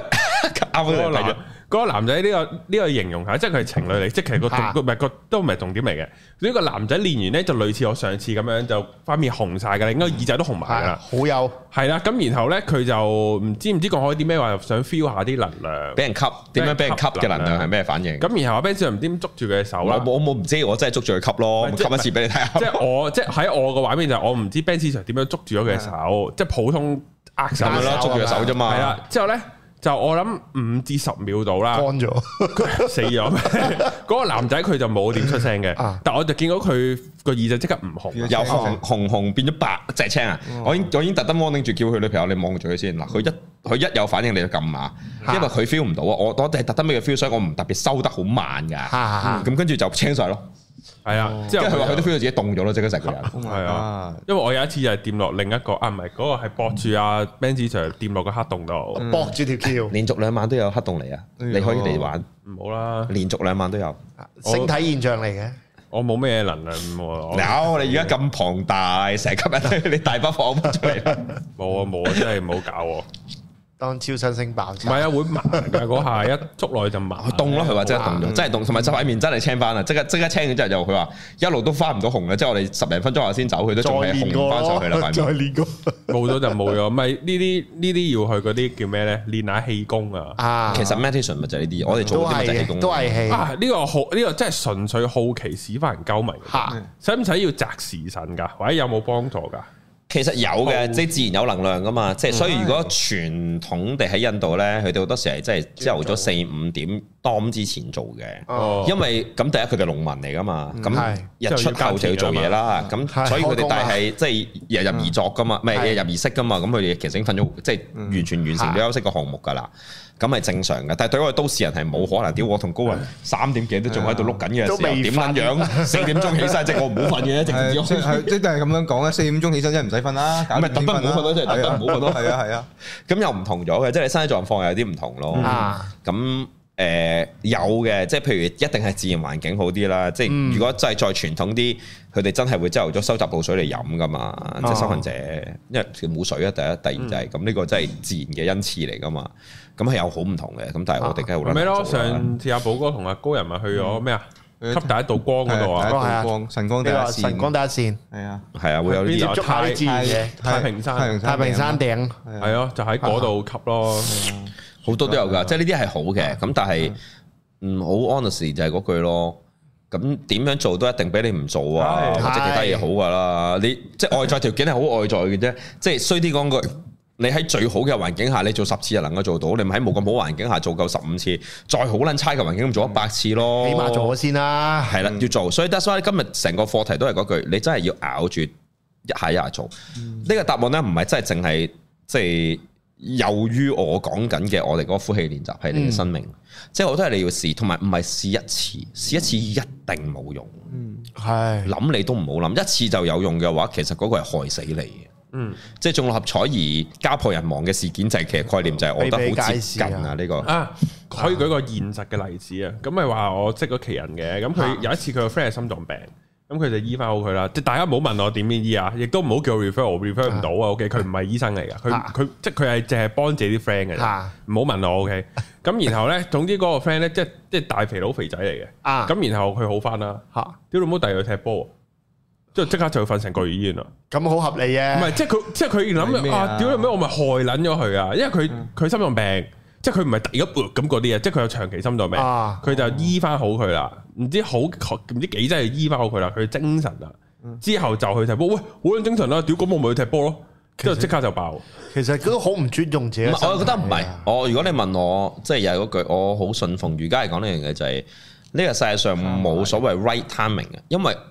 嗰個男仔呢個形容下，即係佢係情侶嚟，即係其實都唔係重點嚟嘅。呢個男仔練完咧，就類似我上次咁樣，就塊面紅晒㗎啦，應該耳仔都紅埋㗎啦， 好有係啦。咁然後咧，佢就唔知講開啲咩話，想 feel 下啲能量， 俾人吸點樣俾人吸嘅能量係咩反應？ 咁然後阿 Ben 唔知捉住佢嘅手啦， 我唔知，我真係捉住佢吸咯，吸一次俾你睇下。 即係喺我個畫面就我唔知 Ben 點樣捉住咗佢嘅手，即係普通握手咁樣捉住佢手啫嘛。係啦，之後咧。就我諗5至10秒到啦， 乾咗， 佢死咗。嗰個男仔佢就冇點出聲嘅，但我就見到佢個耳仔即刻唔紅， 由紅變咗白隻青啊！我已經特登 warning 住叫佢女朋友你望住佢先嗱，佢一有反應你就撳啊，因為佢 feel 唔到啊，我係特登俾佢 feel，所以我唔特別收得好慢噶，咁跟住就青晒咯。係啊，即係佢話佢都 feel 到自己凍咗咯，即刻成個人。 係啊，因為我有一次就係掂落另一個唔係嗰個係駁住阿 Ben 子 Sir 掂落個黑洞度， 駁住條橋， 連續2晚都有黑洞嚟啊！你可以嚟玩， 唔好啦， 連續2晚都有， 星體現象嚟嘅。 我冇咩能量有，你而家咁龐大，成吸引你大把放出嚟啦。 冇啊，真係唔好搞我。 當超新星爆，唔係啊，會麻㗎嗰下一捉落去就麻， 凍咯，佢話真係凍咗，真係凍，同埋塊面真係青翻啦，即刻青咗之後就佢話一路都翻唔到紅嘅，即係我哋10零分鐘後先走，佢都仲係紅翻上去啦， 再練過， 冇咗就冇咗，咪呢啲要去嗰啲叫咩咧？練下氣功啊！ 其實 meditation 咪就係呢啲，我哋做啲咪就係氣功， 都係氣啊！呢個真係純粹好奇屎翻人鳩迷，使唔使要擇時辰㗎？或者有冇幫助㗎？ 其實有嘅，即係自然有能量噶嘛，即係所以如果傳統地喺印度咧，佢哋好多時係即係朝頭早4-5點當之前做嘅，因為咁第一佢哋農民嚟噶嘛，咁日出後就要做嘢啦，咁所以佢哋但係即係日入而作噶嘛，唔係日入而息噶嘛，咁佢哋其實已經瞓咗，即係完全完成咗休息個項目噶啦。咁係正常嘅，但係對我哋都市人係冇可能。屌我同高人3點幾都仲喺度碌緊嘅時候，點撚樣4點鐘起身？即係我唔好瞓嘅， 即係咁樣講咧。4點鐘起身真係唔使瞓啦， 咁咪特登唔好瞓咯，即係特登唔好瞓咯。 係啊， 咁又唔同咗嘅，即係你身體狀況有啲唔同咯。咁有嘅，即係譬如一定係自然環境好啲啦。即係如果真係再傳統啲，佢哋真係會朝頭早收集露水嚟飲噶嘛。即係修行者，因為冇水啊，第一，第二就係咁，呢個真係自然嘅恩賜嚟噶嘛。咁係有好唔同嘅，咁但係我哋梗係好難做啦。咩咯？ 上次阿寶哥同阿高人咪去咗咩啊？吸第一道光嗰度啊！ 第一道光，晨光第一線。 晨光第一線， 係啊， 係啊，會有啲太平山頂， 係咯，就喺嗰度吸咯。 好多都有㗎，即係呢啲係好嘅。咁但係好 honest 就係嗰句咯。咁點樣做都一定比你唔做啊，或者其他嘢好㗎啦。你即係外在條件係好外在嘅啫，即係衰啲講句。你喺最好嘅環境下，你做10次就能夠做到。你咪喺冇咁好環境下做夠15次，再好撚差嘅環境咁做100次咯。 起碼做咗先啦。 係啦，要做。所以 that's why 今日成個課題都係嗰句，你真係要咬住一下做。呢個答案咧唔係真係淨係即係由於我講緊嘅，我哋嗰個呼氣練習係你嘅生命，即係我都係你要試，同埋唔係試一次，試一次一定冇用。係諗你都唔好諗，一次就有用嘅話，其實嗰個係害死你嘅。即係中六合彩而家破人亡嘅事件，就係其實概念就係我覺得好接近啊呢個。 可以舉個現實嘅例子啊，咁咪話我識咗奇人嘅，咁佢有一次佢個 friend 係心臟病。咁佢就醫翻好佢啦，即係大家唔好問我點樣醫啊，亦都唔好叫我 refer， 我 refer 唔到啊。OK，佢唔係醫生嚟噶，佢即係佢係淨係幫自己啲 friend 嘅，唔好問我。OK，咁然後咧，總之嗰個 friend 咧，即係大肥佬肥仔嚟嘅，咁然後佢好翻啦，屌老母第二日踢波，即刻就瞓成個月醫院啦。咁好合理嘅，唔係即係佢諗啊，屌老母我咪害撚咗佢啊，因為佢心臟病。即係佢唔係第一咁嗰啲嘢，即係佢有長期心臟病，佢就醫翻好佢啦。唔知幾真係醫翻好佢啦，佢精神啦。之後就去踢波，喂，好撚精神啦！屌，咁我咪去踢波咯。之後即刻就爆。其實佢都好唔尊重自己。 我覺得唔係。如果你問我，即係又係嗰句，我好信奉瑜伽嚟講呢樣嘢就係呢個世界上冇所謂 right timing 嘅，因為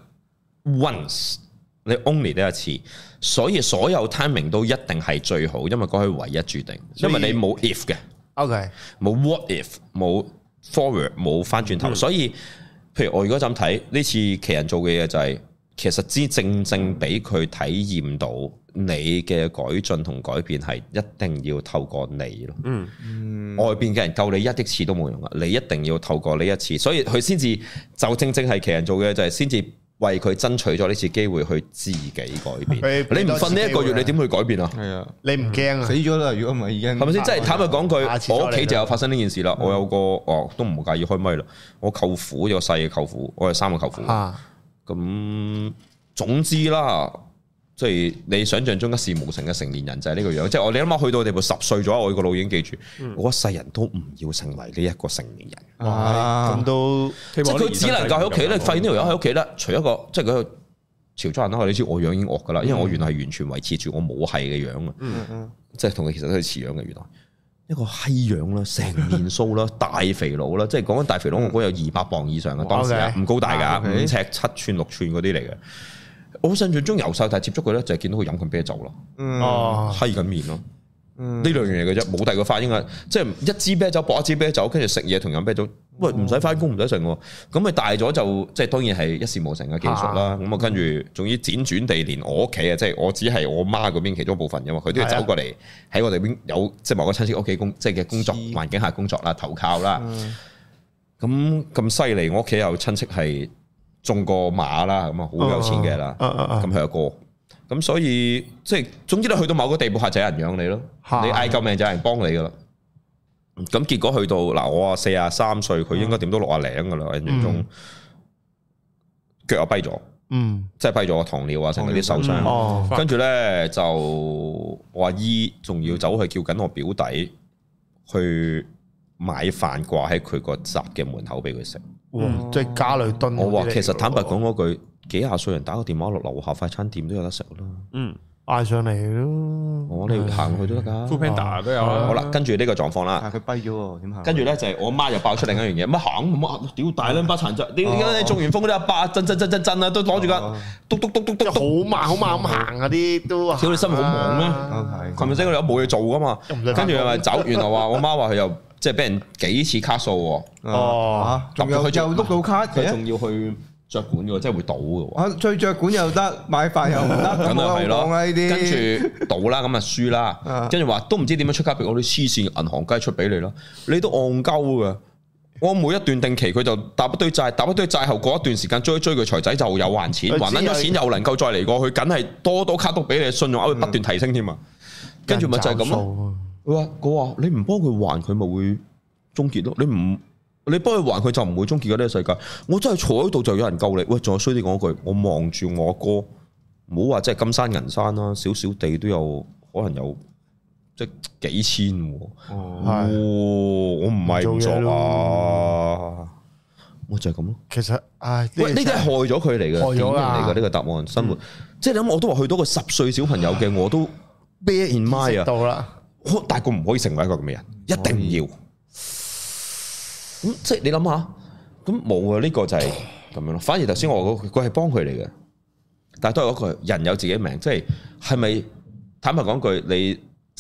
once 你 only 得一次，所以所有 timing 都一定係最好，因為嗰係唯一注定，因為你冇 if 嘅。OK， 冇 what if， 冇 forward， 冇翻轉頭，所以譬如我如果咁睇呢次奇人做嘅嘢就係，其實正俾佢體驗到你嘅改進同改變係一定要透過你咯。外邊嘅人救你一億次都冇用啊，你一定要透過呢一次，所以佢先至就正係奇人做嘅就係先至。為佢爭取咗呢次機會去自己改變，你唔瞓呢一個月，你點去改變啊？係啊，你唔驚啊？死咗啦！如果唔係已經係咪先？即係坦白講句，我屋企就有發生呢件事啦。我有個都唔介意開咪啦。我舅父有個細嘅舅父，我有3個舅父。咁總之啦，即係你想象中一事無成嘅成年人就係呢個樣。即係我哋啱啱去到地步10歲咗，我個腦已經記住，我一世人都唔要成為呢一個成年人。咁都即係佢只能夠喺屋企咧，發現呢條友喺屋企咧，除一個即係佢潮州人啦，你知我樣已經惡噶啦，因為我原來係完全維持住我母系嘅樣啊，即係同佢其實都係似樣嘅。原來一個閪樣啦，成面鬚啦，大肥佬啦，即係講緊大肥佬，我估有200磅以上嘅當時啊，唔高大噶，5尺7寸6寸嗰啲嚟嘅。我印象中由細大接觸佢咧，就係見到佢飲緊啤酒咯，閪緊面咯。呢兩樣嘢嘅啫，冇第二個發應啊！即係一支啤酒搏一支啤酒，跟住食嘢同飲啤酒，喂唔使翻工唔使食喎。咁咪大咗就即係當然係一事無成嘅技術啦。咁啊跟住仲要輾轉地連我屋企啊，即係我只係我媽嗰邊其中一部分嘅嘛，佢都要走過嚟喺我哋邊有即係某個親戚屋企即係嘅工作環境下工作啦，投靠啦。咁犀利，我屋企有親戚係中過馬啦，咁啊好有錢嘅啦。咁佢阿哥。咁所以即係總之你去到某個地步係就有人養你咯，你嗌救命就有人幫你噶啦。咁結果去到嗱，我43歲，佢應該點都60零噶啦，印象中腳又跛咗，即係跛咗個糖尿啊，成嗰啲受傷。跟住咧就我阿姨仲要走去叫緊我表弟去買飯掛喺佢個閘嘅門口俾佢食。即係家裏蹲。我話其實坦白講嗰句。幾廿歲人打個電話落樓下快餐店都有得食啦，嗌上嚟咯，我哋行去都得噶，Foodpanda 都有啦。好啦，跟住呢個狀況啦，佢跛咗喎，點行？跟住咧就係我媽又爆出另一樣嘢，乜行乜屌大兩把殘疾，你中完風嗰啲阿伯震啊，都攞住架篤，好慢咁行啊啲都，屌你心好忙咩？琴日先我哋有冇嘢做噶嘛？跟住又咪走，原來話我媽話佢又即係俾人幾次卡數喎，仲有佢就碌到卡，佢仲要去。着管嘅，即係會倒嘅。 最着管又得，買飯又唔得，咁啊係咯。跟住倒啦，咁啊輸啦。跟住話都唔知點樣出卡俾我啲黐線銀行雞出俾你啦。你都戇鳩嘅。我每一段定期佢就搭一堆債後過一段時間追佢財仔就有還錢，還撚咗錢又能夠再嚟過，佢梗係多卡都俾你，信用額會不斷提升添啊。跟住咪就係咁咯。佢話你唔幫佢還，佢咪會終結咯。你幫佢還，佢就唔會終結嘅呢個世界。我真係坐喺度就有人救你。喂，仲有衰啲講句，我望住我阿哥，唔好話即係金山銀山啦，少少地都有可能有即係幾千。我唔係唔做啊，我就係咁咯。其實，喂，呢啲係害咗佢嚟嘅，害咗嚟嘅呢個答案。生活，即係你諗，我都話去到個10歲小朋友嘅，我都 bear in mind 啊。到啦，大個唔可以成為一個咁嘅人，一定要。咁即係你諗下，咁冇啊？呢個就係咁樣咯。反而頭先我佢係幫佢嚟嘅，但係都係嗰句人有自己命，即係咪坦白講句，你即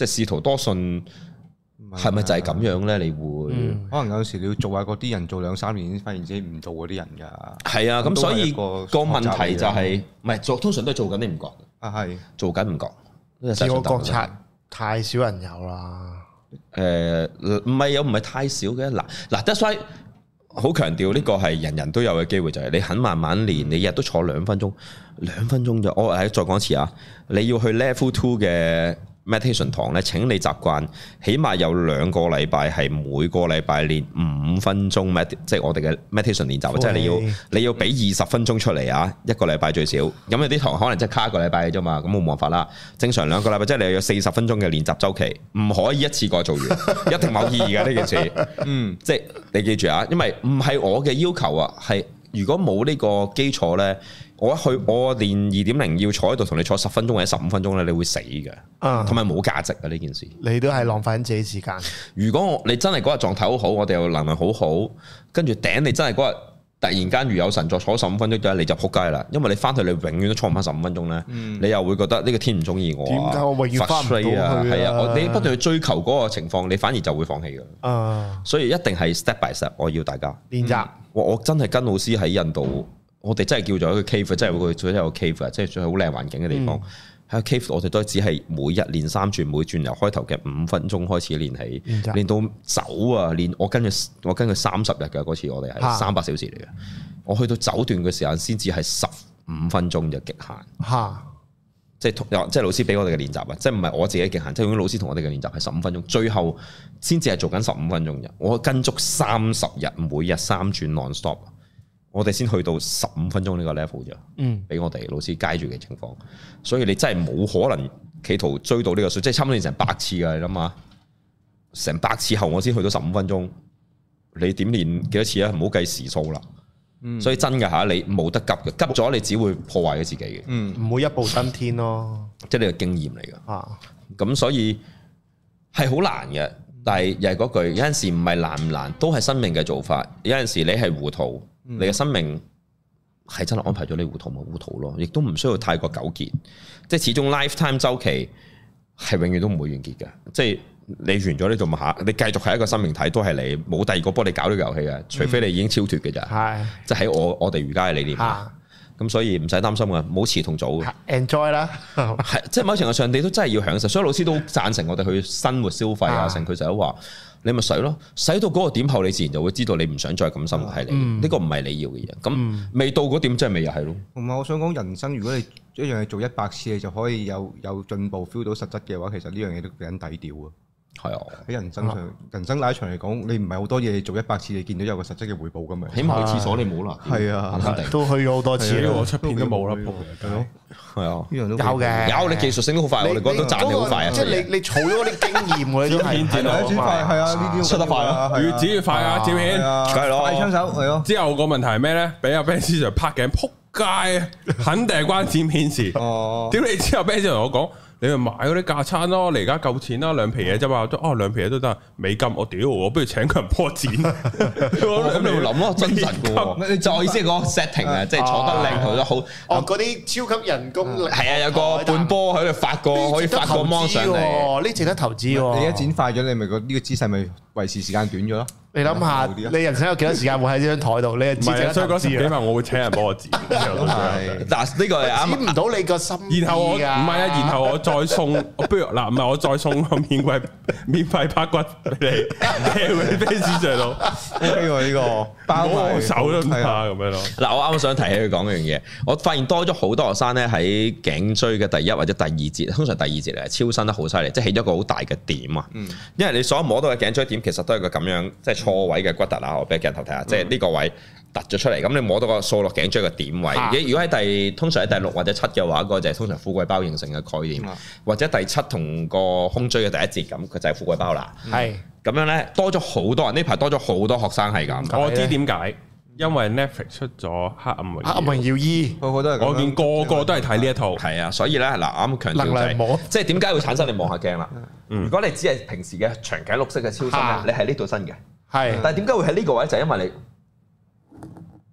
即係試圖多信。係咪就係咁樣咧？你會可能有時你要做下嗰啲人做2-3年先發現自己唔做嗰啲人㗎。 係啊，咁所以個問題就係唔係做，通常都係做緊你唔覺啊，係做緊唔覺。 自我覺察太少人有啦。 唔係太少嘅嗱，that's why 好強調呢個係人人都有嘅機會，就係你肯慢慢練，你日都坐2分鐘啫。我再講一次啊，你要去 level 2嘅。meditation 堂咧，請你習慣，起碼有2個禮拜係每個禮拜練5分鐘即係我哋嘅 meditation 練習，即係你要俾20分鐘出嚟啊，一個禮拜最少。咁有啲堂可能即係卡1個禮拜嘅啫嘛，咁冇辦法啦。正常2個禮拜即係你有40分鐘嘅練習週期，唔可以一次過做完，一定冇意義嘅呢件事。即係你記住啊，因為唔係我嘅要求啊，係如果冇呢個基礎咧。我練 2.0 要坐喺度同你坐10分鐘或者15分鐘咧，你會死嘅，同埋冇價值嘅呢件事。 你都係浪費緊自己時間。 如果你真係嗰日狀態好好，我哋又能量好好，跟住頂你真係嗰日突然間如有神助坐15分鐘嘅，你就撲街啦。因為你翻去你永遠都坐唔翻15分鐘咧，你又會覺得呢個天唔中意我。點解我永遠翻唔到去啊？係啊，你不斷去追求嗰個情況，你反而就會放棄嘅。所以一定係 step by step，我要大家練習。 我真係跟老師喺印度。我哋真係叫做一個 cave， 真係會做一個 cave， 即係最好靚環境嘅地方。喺個 cave， 我哋都只係每日練3轉，每轉由開頭嘅5分鐘開始練起，練到走啊！我跟佢30日嘅嗰次，我哋係300小時嚟嘅。我去到走段嘅時間先至係15分鐘就極限。即係老師俾我哋嘅練習啊！即係唔係我自己極限，即係老師同我哋嘅練習係15分鐘，最後先至係做緊15分鐘嘅。我跟足30日，每日3轉 non-stop。我哋先去到15分鐘呢個 level 啫，俾我哋老師街住嘅情況，所以你真係冇可能企圖追到呢個數，即係差唔多成100次㗎，你諗下，成100次後我先去到15分鐘，你點練幾多次啊？唔好計時數啦，所以真㗎嚇，你冇得急嘅，急咗你只會破壞咗自己嘅， 唔會一步登天咯， 即係呢個經驗嚟㗎，咁所以係好難嘅，但係又係嗰句，有陣時唔係難唔難，都係生命嘅做法，有陣時你係糊塗。你嘅生命係真係安排咗你糊塗咪糊塗咯，亦都唔需要太過糾結。即係始終 lifetime 周期係永遠都唔會完結嘅。即係你完咗呢度下，你繼續係一個生命體，都係你冇第二個幫你搞呢個遊戲嘅，除非你已經超脫嘅咋。係，即係喺我哋瑜伽嘅理念。咁所以唔使擔心嘅，冇遲同早 enjoy 啦。 係，即係某程度上你都真係要享受。所以老師都贊成我哋去生活消費啊，成佢成日都話。你咪使咯，使到嗰個點後，你自然就會知道你唔想再咁生活喺你。呢個唔係你要嘅嘢。咁未到嗰點，真係未又係咯。 同埋我想講，人生如果你一樣嘢做100次，你就可以有進步 feel 到實質嘅話，其實呢樣嘢都幾撚抵屌啊！係啊，喺人生上，人生拉長嚟講，你唔係好多嘢做100次，你見到有個實質嘅回報㗎嘛？ 起碼去廁所你冇啦。 係啊， 都去咗好多次， 我出片都冇啦。 係啊， 呢樣都有嘅， 有你技術性都好快，我哋覺得都賺你好快啊！ 即係你儲咗嗰啲經驗喎，你都係轉快係啊，呢啲出得快啊， 越剪越快啊，照片係咯， 快槍手係咯。 之後個問題係咩咧？俾阿 Ben Sir 拍鏡撲街啊，肯定係關剪片事。哦，屌你之後 Ben Sir 同我講。你咪買嗰啲架撐咯，你而家夠錢啦，2皮嘢啫嘛，2皮嘢都得，美金我屌，我不如請個人幫我剪， 咁你要諗咯，真實嘅，你再意思係個 setting 啊，即係坐得靚，坐得好， 嗰啲超級人工， 係啊，有個半波喺度發個，可以發個芒上嚟， 呢值得投資喎， 你一剪快咗，你咪個呢個姿勢咪維持時間短咗咯。 你諗下，你人生有幾多時間會喺呢張台度？你係知， 所以嗰時幾萬我會請人幫我剪。 嗱，呢個係啱。 剪唔到你個心意。 然後我唔係啊，然後我再送，不如嗱，唔係我再送個免費拍骨俾你，喺 fans 上度。 呢個呢個包埋手都唔怕咁樣咯。 嗱，我啱啱想提起佢講嗰樣嘢，我發現多咗好多學生咧喺頸椎嘅第1或者第2節，通常第2節嚟超伸得好犀利，即係起咗個好大嘅點啊。因為你所摸到嘅頸椎點其實都係個咁樣，即係錯位嘅骨突啊！我俾鏡頭睇下，即係呢個位突咗出嚟，咁你摸到個掃落頸椎嘅點位。如果喺通常喺第6或者7嘅話，嗰個就係通常富貴包形成嘅概念，或者第7同個胸椎嘅第1節咁，佢就係富貴包啦。係咁樣咧，多咗好多人，呢排多咗好多學生係咁。 我知點解，因為 Netflix 出咗《黑暗榮耀》， 黑暗榮耀2， 我見個個都係睇呢一套。 係啊，所以咧嗱，啱強調就係，即係點解會產生你望下鏡啦？如果你只係平時嘅長頸鹿式嘅超伸咧，你係呢度伸嘅。係，但係點解會喺呢個位？就係因為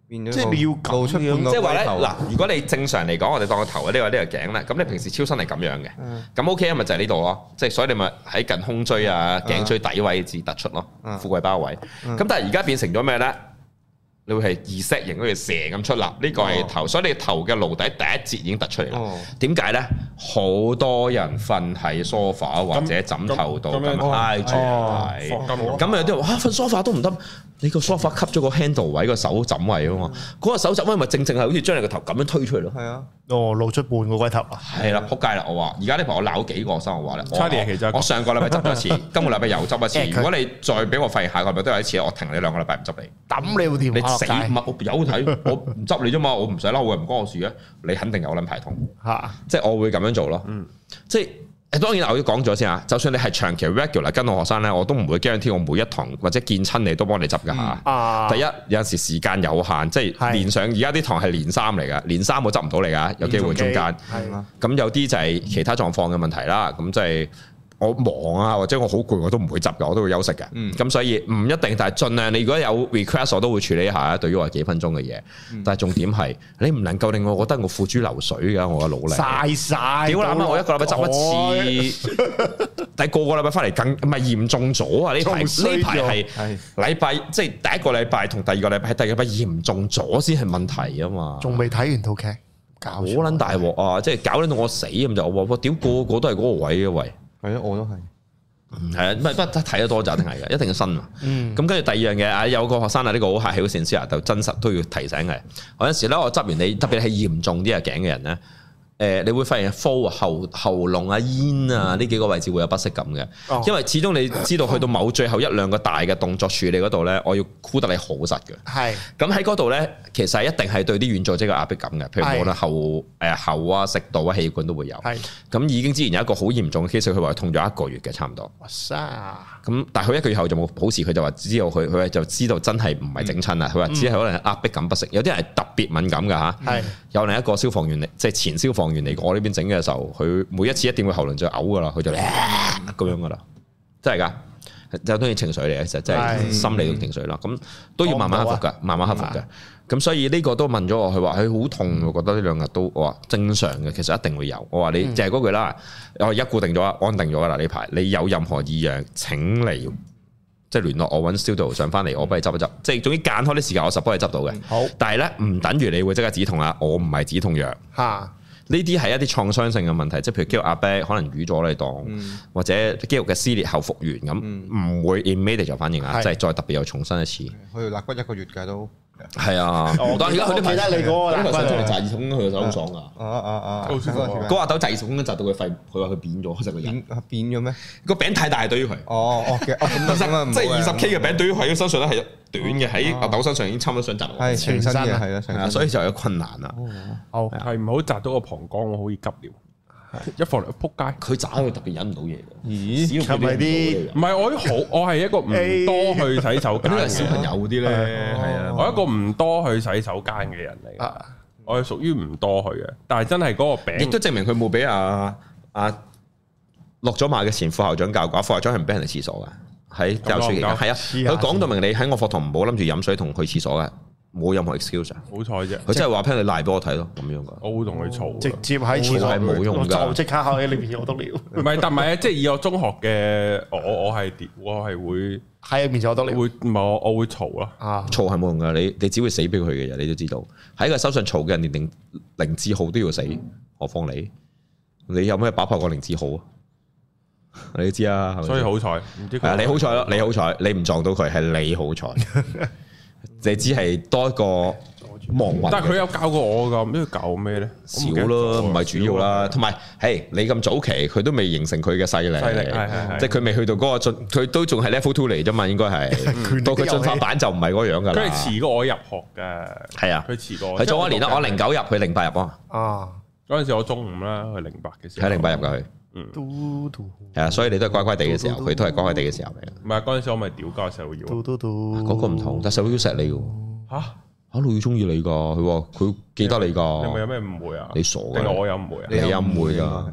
即係你要露出半個， 即係話咧嗱，如果你正常嚟講，我哋當個頭呢個頸咧，咁你平時超身係咁樣嘅，咁 OK 啊，咪就係呢度咯，即係所以你咪喺近胸椎啊、頸椎底位置突出咯，富貴包位。咁但係而家變成咗咩咧？你會係Z型嗰條蛇咁出啦，呢個係頭，所以你頭嘅顱底第一節已經突出嚟啦。點解咧？好多人瞓喺梳化或者枕頭度咁挨住嚟，咁有啲人話瞓梳化都唔得，你個梳化吸咗個 handle 位個手枕位啊嘛，嗰個手枕位咪正正係好似將你個頭咁樣推出嚟咯。係啊， 露出半個龜頭啊。 係啦，撲街啦！我話而家呢排我鬧幾個生活話咧， 其實我上個禮拜執咗一次，今個禮拜又執一次。如果你再俾我發現下個禮拜都有一次，我停你2個禮拜唔執你， 抌你部電話。 死物有睇，我唔執你啫嘛，我唔使嬲嘅，唔關我事嘅，你肯定有撚排痛嚇，即係我會咁樣做咯。即係當然我要講咗先啊，就算你係長期 regular 跟我學生咧，我都唔會 guarantee我每一堂或者見親你都幫你執㗎嚇。第一有陣時時間有限，即係連上而家啲堂係連3嚟㗎，連3我執唔到你㗎，有機會中間。咁有啲就係其他狀況嘅問題啦，咁即係。我忙啊，或者我好攰，我都唔會執嘅，我都會休息嘅。咁所以唔一定，但係盡量你如果有 request，我都會處理一下。對於我係幾分鐘嘅嘢，但係重點係你唔能夠令我覺得我付諸流水㗎，我嘅努力嘥晒。 屌你媽！我一個禮拜執一次，但係個禮拜翻嚟更唔係嚴重咗啊！呢排係禮拜，即係第一個禮拜同第二個禮拜係第二個禮拜嚴重咗先係問題啊嘛。 仲未睇完套劇， 好撚大鑊啊！即係搞撚到我死咁就我屌個個都係嗰個位嘅喂。 係啊，我都係。 係啊，不睇得多就一定係嘅，一定要新啊。咁跟住第二樣嘢啊，有個學生啊，呢個好客氣好善思啊，就真實都要提醒嘅。有陣時咧，我執完你，特別係嚴重啲嘅頸嘅人咧。你會發現喉嚨啊、咽啊呢幾個位置會有不適感嘅，因為始終你知道去到某最後1-2個大嘅動作處理嗰度咧，我要箍得你好實嘅。係。咁喺嗰度咧，其實一定係對啲軟組織嘅壓迫感嘅，譬如無論喉啊、食道啊、氣管都會有。係。咁已經之前有一個好嚴重嘅 case，佢話痛咗1個月嘅差唔多。哇塞！咁但係佢1個月後就冇好事，佢就話知道佢就知道真係唔係整親啦。佢話只係可能壓迫感不適，有啲人係特別敏感㗎嚇。係。有另一個消防員嚟，即係前消防員嚟我呢邊整嘅時候，佢每一次一定會喉嚨就嘔噶啦，佢就咁樣噶啦，真係噶，就當然情緒嚟嘅，其實真係心理嘅情緒啦。咁都要慢慢克服噶，慢慢克服嘅。咁所以呢個都問咗我，佢話佢好痛，我覺得呢2日都我話正常嘅，其實一定會有。我話你就係嗰句啦，我而家固定咗，安定咗噶啦呢排。你有任何異樣，請嚟即係聯絡我，揾 studio 上翻嚟，我幫你執一執。即係總之間開啲時間，我實幫你執到嘅。好，但係咧唔等於你會即刻止痛啊！我唔係止痛藥嚇。呢啲係一啲創傷性嘅問題，即係譬如肌肉壓迫，可能瘀咗你當，或者肌肉嘅撕裂後復原咁，唔會 immediate 就反應啊，即係再特別又重新一次。 去肋骨1個月嘅都係啊，但係而家佢啲睇得你嗰個肋骨嚟扎耳筒，佢個手好爽噶。 好舒服。 嗰阿豆扎耳筒扎到佢肺，佢話佢扁咗，成個人扁咗咩？ 個餅太大對於佢。即係20K 嘅餅對於佢身上咧係短嘅，喺阿豆身上已經差唔多想扎落。 係全身嘅係啦， 所以就有困難啦。 係唔好扎到個膀胱，我好易急尿。一放嚟撲街， 佢渣佢特別忍唔到嘢。 咦？ 係咪啲？ 唔係我係一個唔多去洗手間嘅小朋友啲咧，係啊， 我一個唔多去洗手間嘅人嚟。我係屬於唔多去嘅，但係真係嗰個餅， 亦都證明佢冇俾阿落咗馬嘅前副校長教過，副校長係唔俾人哋廁所嘅，喺教書期間係啊，佢講到明你喺我課堂唔好諗住飲水同去廁所嘅。冇任何 excuse， 好彩啫！ 佢真係話聽你賴俾我睇咯，咁樣噶。 我會同佢嘈， 直接喺廁所係冇用㗎， 就即刻喺裏邊有篤尿。 唔係，但唔係啊！即係以我中學嘅我係會喺面前有篤尿。 會唔係我會嘈咯。 嘈係冇用㗎，你只會死俾佢嘅嘢，你都知道。喺個手上嘈嘅人連凌志豪都要死，何況你？你有咩把炮過凌志豪啊？你都知啊， 所以好彩，唔知你好彩咯，你好彩，你唔撞到佢係你好彩。你只係多一個亡魂， 但係佢有教過我㗎，唔知佢教咩咧？ 少咯，唔係主要啦。同埋，嘿，你咁早期，佢都未形成佢嘅勢力，即係佢未去到嗰個進，佢都仲係 level 2嚟啫嘛，應該係。到佢進化版就唔係嗰樣㗎啦。 佢係遲過我入學㗎，係啊，佢遲過我。 佢早一年啦，我09入，佢08入啊。 啊，嗰陣時我中5啦，佢08嘅時候。 喺08入㗎佢。係啊，所以你都係乖乖地嘅時候，佢都係乖乖地嘅時候嚟。 唔係嗰陣時我咪屌交石老妖， 嗰個唔同，但石老妖錫你嘅。嚇老妖中意你㗎，佢話佢記得你㗎。 你咪有咩誤會啊？ 你傻㗎？ 定我有誤會啊？ 你有誤會㗎？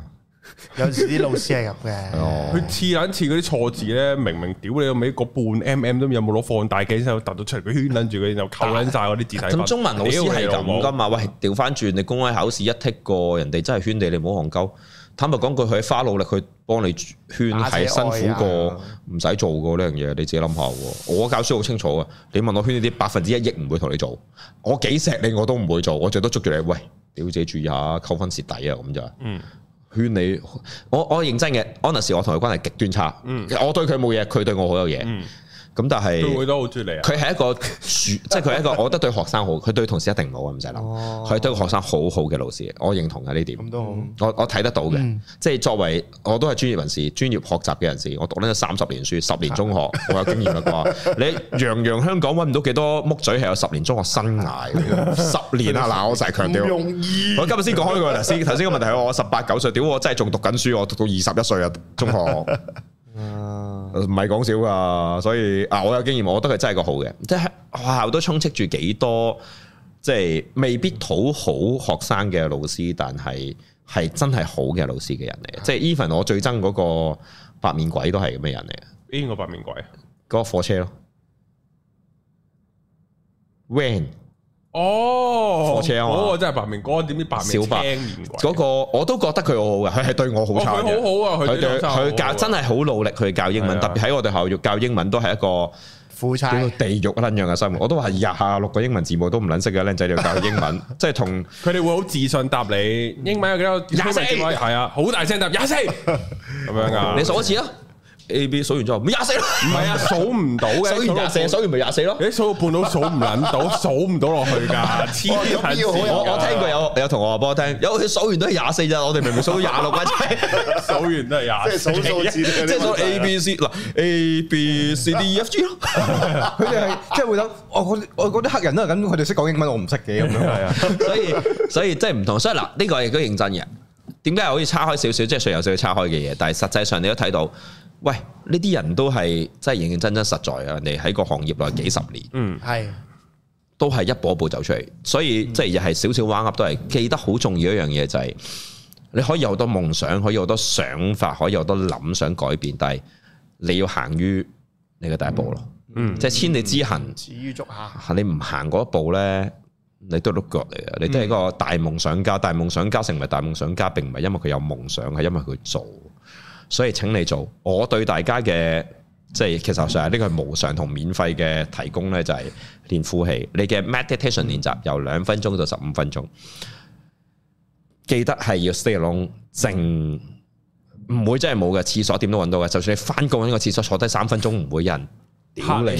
有時啲老師係咁嘅， 佢似撚似嗰啲錯字咧，明明屌你個尾個半 mm 都有冇攞放大鏡先突到出嚟，佢圈撚住佢，然後扣撚晒嗰啲字體。 咁中文老師係咁噶嘛？喂，調翻轉，你公開考試一剔過，人哋真係圈你，你唔好戇鳩。坦白講句，佢花努力去幫你圈，係辛苦過唔使做過呢樣嘢，你自己諗下喎。我教書好清楚啊，你問我圈呢啲1%亦唔會同你做，我幾錫你我都唔會做，我最多捉住你，喂，屌自己注意下，扣分蝕底啊咁就。勸你，我認真嘅，安納士我同佢關係極端差，我對佢冇嘢，佢對我好有嘢。咁但係佢都好中意你啊！ 佢係一個即係佢係一個，我覺得對學生好，佢對同事一定唔好啊，唔使諗。佢係對個學生好好嘅老師，我認同嘅呢點。咁都好，我睇得到嘅。即係作為我都係專業人士、專業學習嘅人士，我讀咗30年書、10年中學，我有經驗啦啩。你洋香港揾唔到幾多木嘴係有10年中學生涯10年啊！嗱，我成日強調，我今日先講開個頭先個問題係我18、19歲，屌我真係仲讀緊書，我讀到21歲啊中學。唔係講笑噶，所以我有經驗，我覺得佢真係個好嘅，即係學校都充斥住幾多，即係未必討好學生嘅老師，但係真係好嘅老師嘅人嚟嘅，即係 even 我最憎嗰個白面鬼都係咁嘅人嚟嘅。 邊個白面鬼啊？ 嗰個火車咯 ，Van。 哦， 火車啊嘛， 嗰個真係白面哥，點知白面青面鬼？ 嗰個我都覺得佢好好嘅，佢係對我好差嘅。 佢好好啊， 佢教真係好努力去教英文，特別喺我哋學校教英文都係一個苦差地獄一撚樣嘅生活。我都話26個英文字母都唔撚識嘅僆仔要教英文，即係同佢哋會好自信答你英文有幾多？24係啊，好大聲答24咁樣噶。 你數一次啊！A B 數完之後咪24咯， 唔係啊，數唔到嘅， 數完24，數完咪24咯。 你數到半都數唔撚到，數唔到落去噶，黐線！ 我聽過有同學話俾我聽，有佢數完都係24咋，我哋明明數到26啊， 數完都係24， 即係數數字， 即係數 A B C 嗱 A B C D E F G 咯。 佢哋係即係會諗，我嗰啲黑人都係咁，佢哋識講英文，我唔識嘅咁樣。係啊， 所以即係唔同，所以嗱呢個亦都認真嘅。點解好似叉開少少，即係雖然有少少叉開嘅嘢，但係實際上你都睇到。喂，呢啲人都係真係認認真真實在啊！人哋喺個行業內幾十年， 係都係一步一步走出嚟，所以即係又係少少彎噏都係記得好重要一樣嘢，就係你可以有好多夢想，可以有好多想法，可以有好多諗想改變，但係你要行於你嘅第一步咯。即係千里之行， 始於足下。 你唔行嗰一步咧，你都係碌腳嚟嘅。你都係一個大夢想家，大夢想家成為大夢想家，並唔係因為佢有夢想，係因為佢做。所以請你做，我對大家嘅即係其實上呢個係無償同免費嘅提供呢，就係練呼氣。你嘅 meditation 練習由2分鐘到15分鐘，記得係要 stay alone 靜，唔會真係冇嘅，廁所點都揾到嘅。就算你翻工呢個廁所坐低3分鐘，唔會有人屌你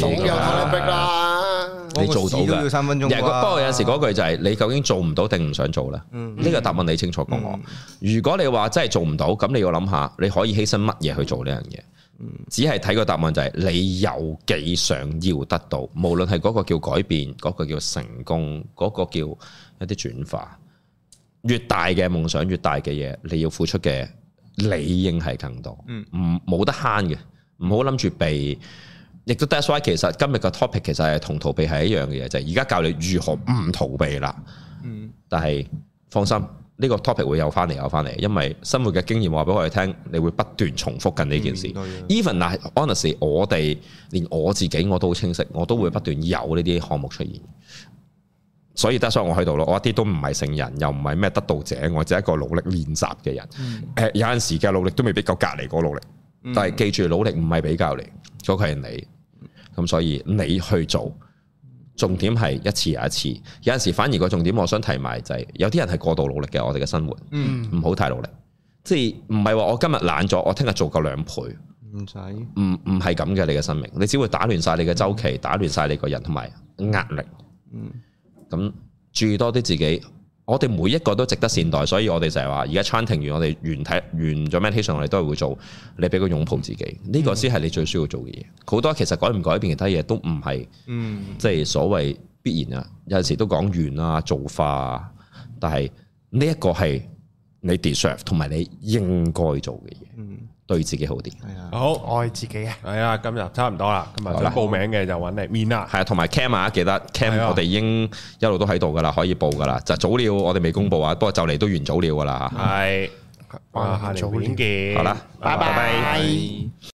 你做到嘅， 要3分鐘。 不過有陣時嗰句就係你究竟做唔到定唔想做咧？呢個答案你清楚過我。如果你話真係做唔到，咁你要諗下，你可以犧牲乜嘢去做呢樣嘢？只係睇個答案就係你有幾想要得到，無論係嗰個叫改變，嗰個叫成功，嗰個叫一啲轉化。越大嘅夢想，越大嘅嘢，你要付出嘅理應係更多。冇得慳嘅，唔好諗住避。亦都 that's why 其實今日嘅 topic 其實係同逃避係一樣嘅嘢，就係而家教你如何唔逃避啦。但係放心，呢個 topic 會有翻嚟，因為生活嘅經驗話俾我哋聽，你會不斷重複緊呢件事。Even 嗱，honestly，我哋連我自己我都好清晰，我都會不斷有呢啲項目出現。所以 that's why 我喺度咯，我一啲都唔係聖人，又唔係咩得道者，我只係一個努力練習嘅人。有陣時嘅努力都未必夠隔離嗰個努力，但係記住努力唔係比較嚟，嗰個係你。咁所以你去做，重點係一次又一次。有陣時反而個重點，我想提埋就係，有啲人係過度努力嘅，我哋嘅生活，唔好太努力。即係唔係話我今日懶咗，我聽日做夠2倍，唔使，唔係咁嘅。你嘅生命，你只會打亂晒你嘅周期，打亂晒你個人同埋壓力。咁注意多啲自己。我哋每一個都值得善待，所以我哋就係話，而家 chanting 完，我哋完咗 meditation，我哋都係會做，你俾個擁抱自己，呢個先係你最需要做嘅嘢。好多其實改唔改變其他嘢都唔係，即係所謂必然啊。有陣時都講完啊，造化啊，但係呢一個係你 deserve 同埋你應該做嘅嘢，對自己好啲。 好愛自己啊！ 係啊，今日差唔多啦，今日想報名嘅就揾你面啦。 係啊，同埋 Cam 啊，記得 Cam 我哋已經一路都喺度噶啦，可以報噶啦。就早鳥我哋未公布啊，不過就嚟都完早鳥噶啦。 係下條片見， 好啦， 拜拜。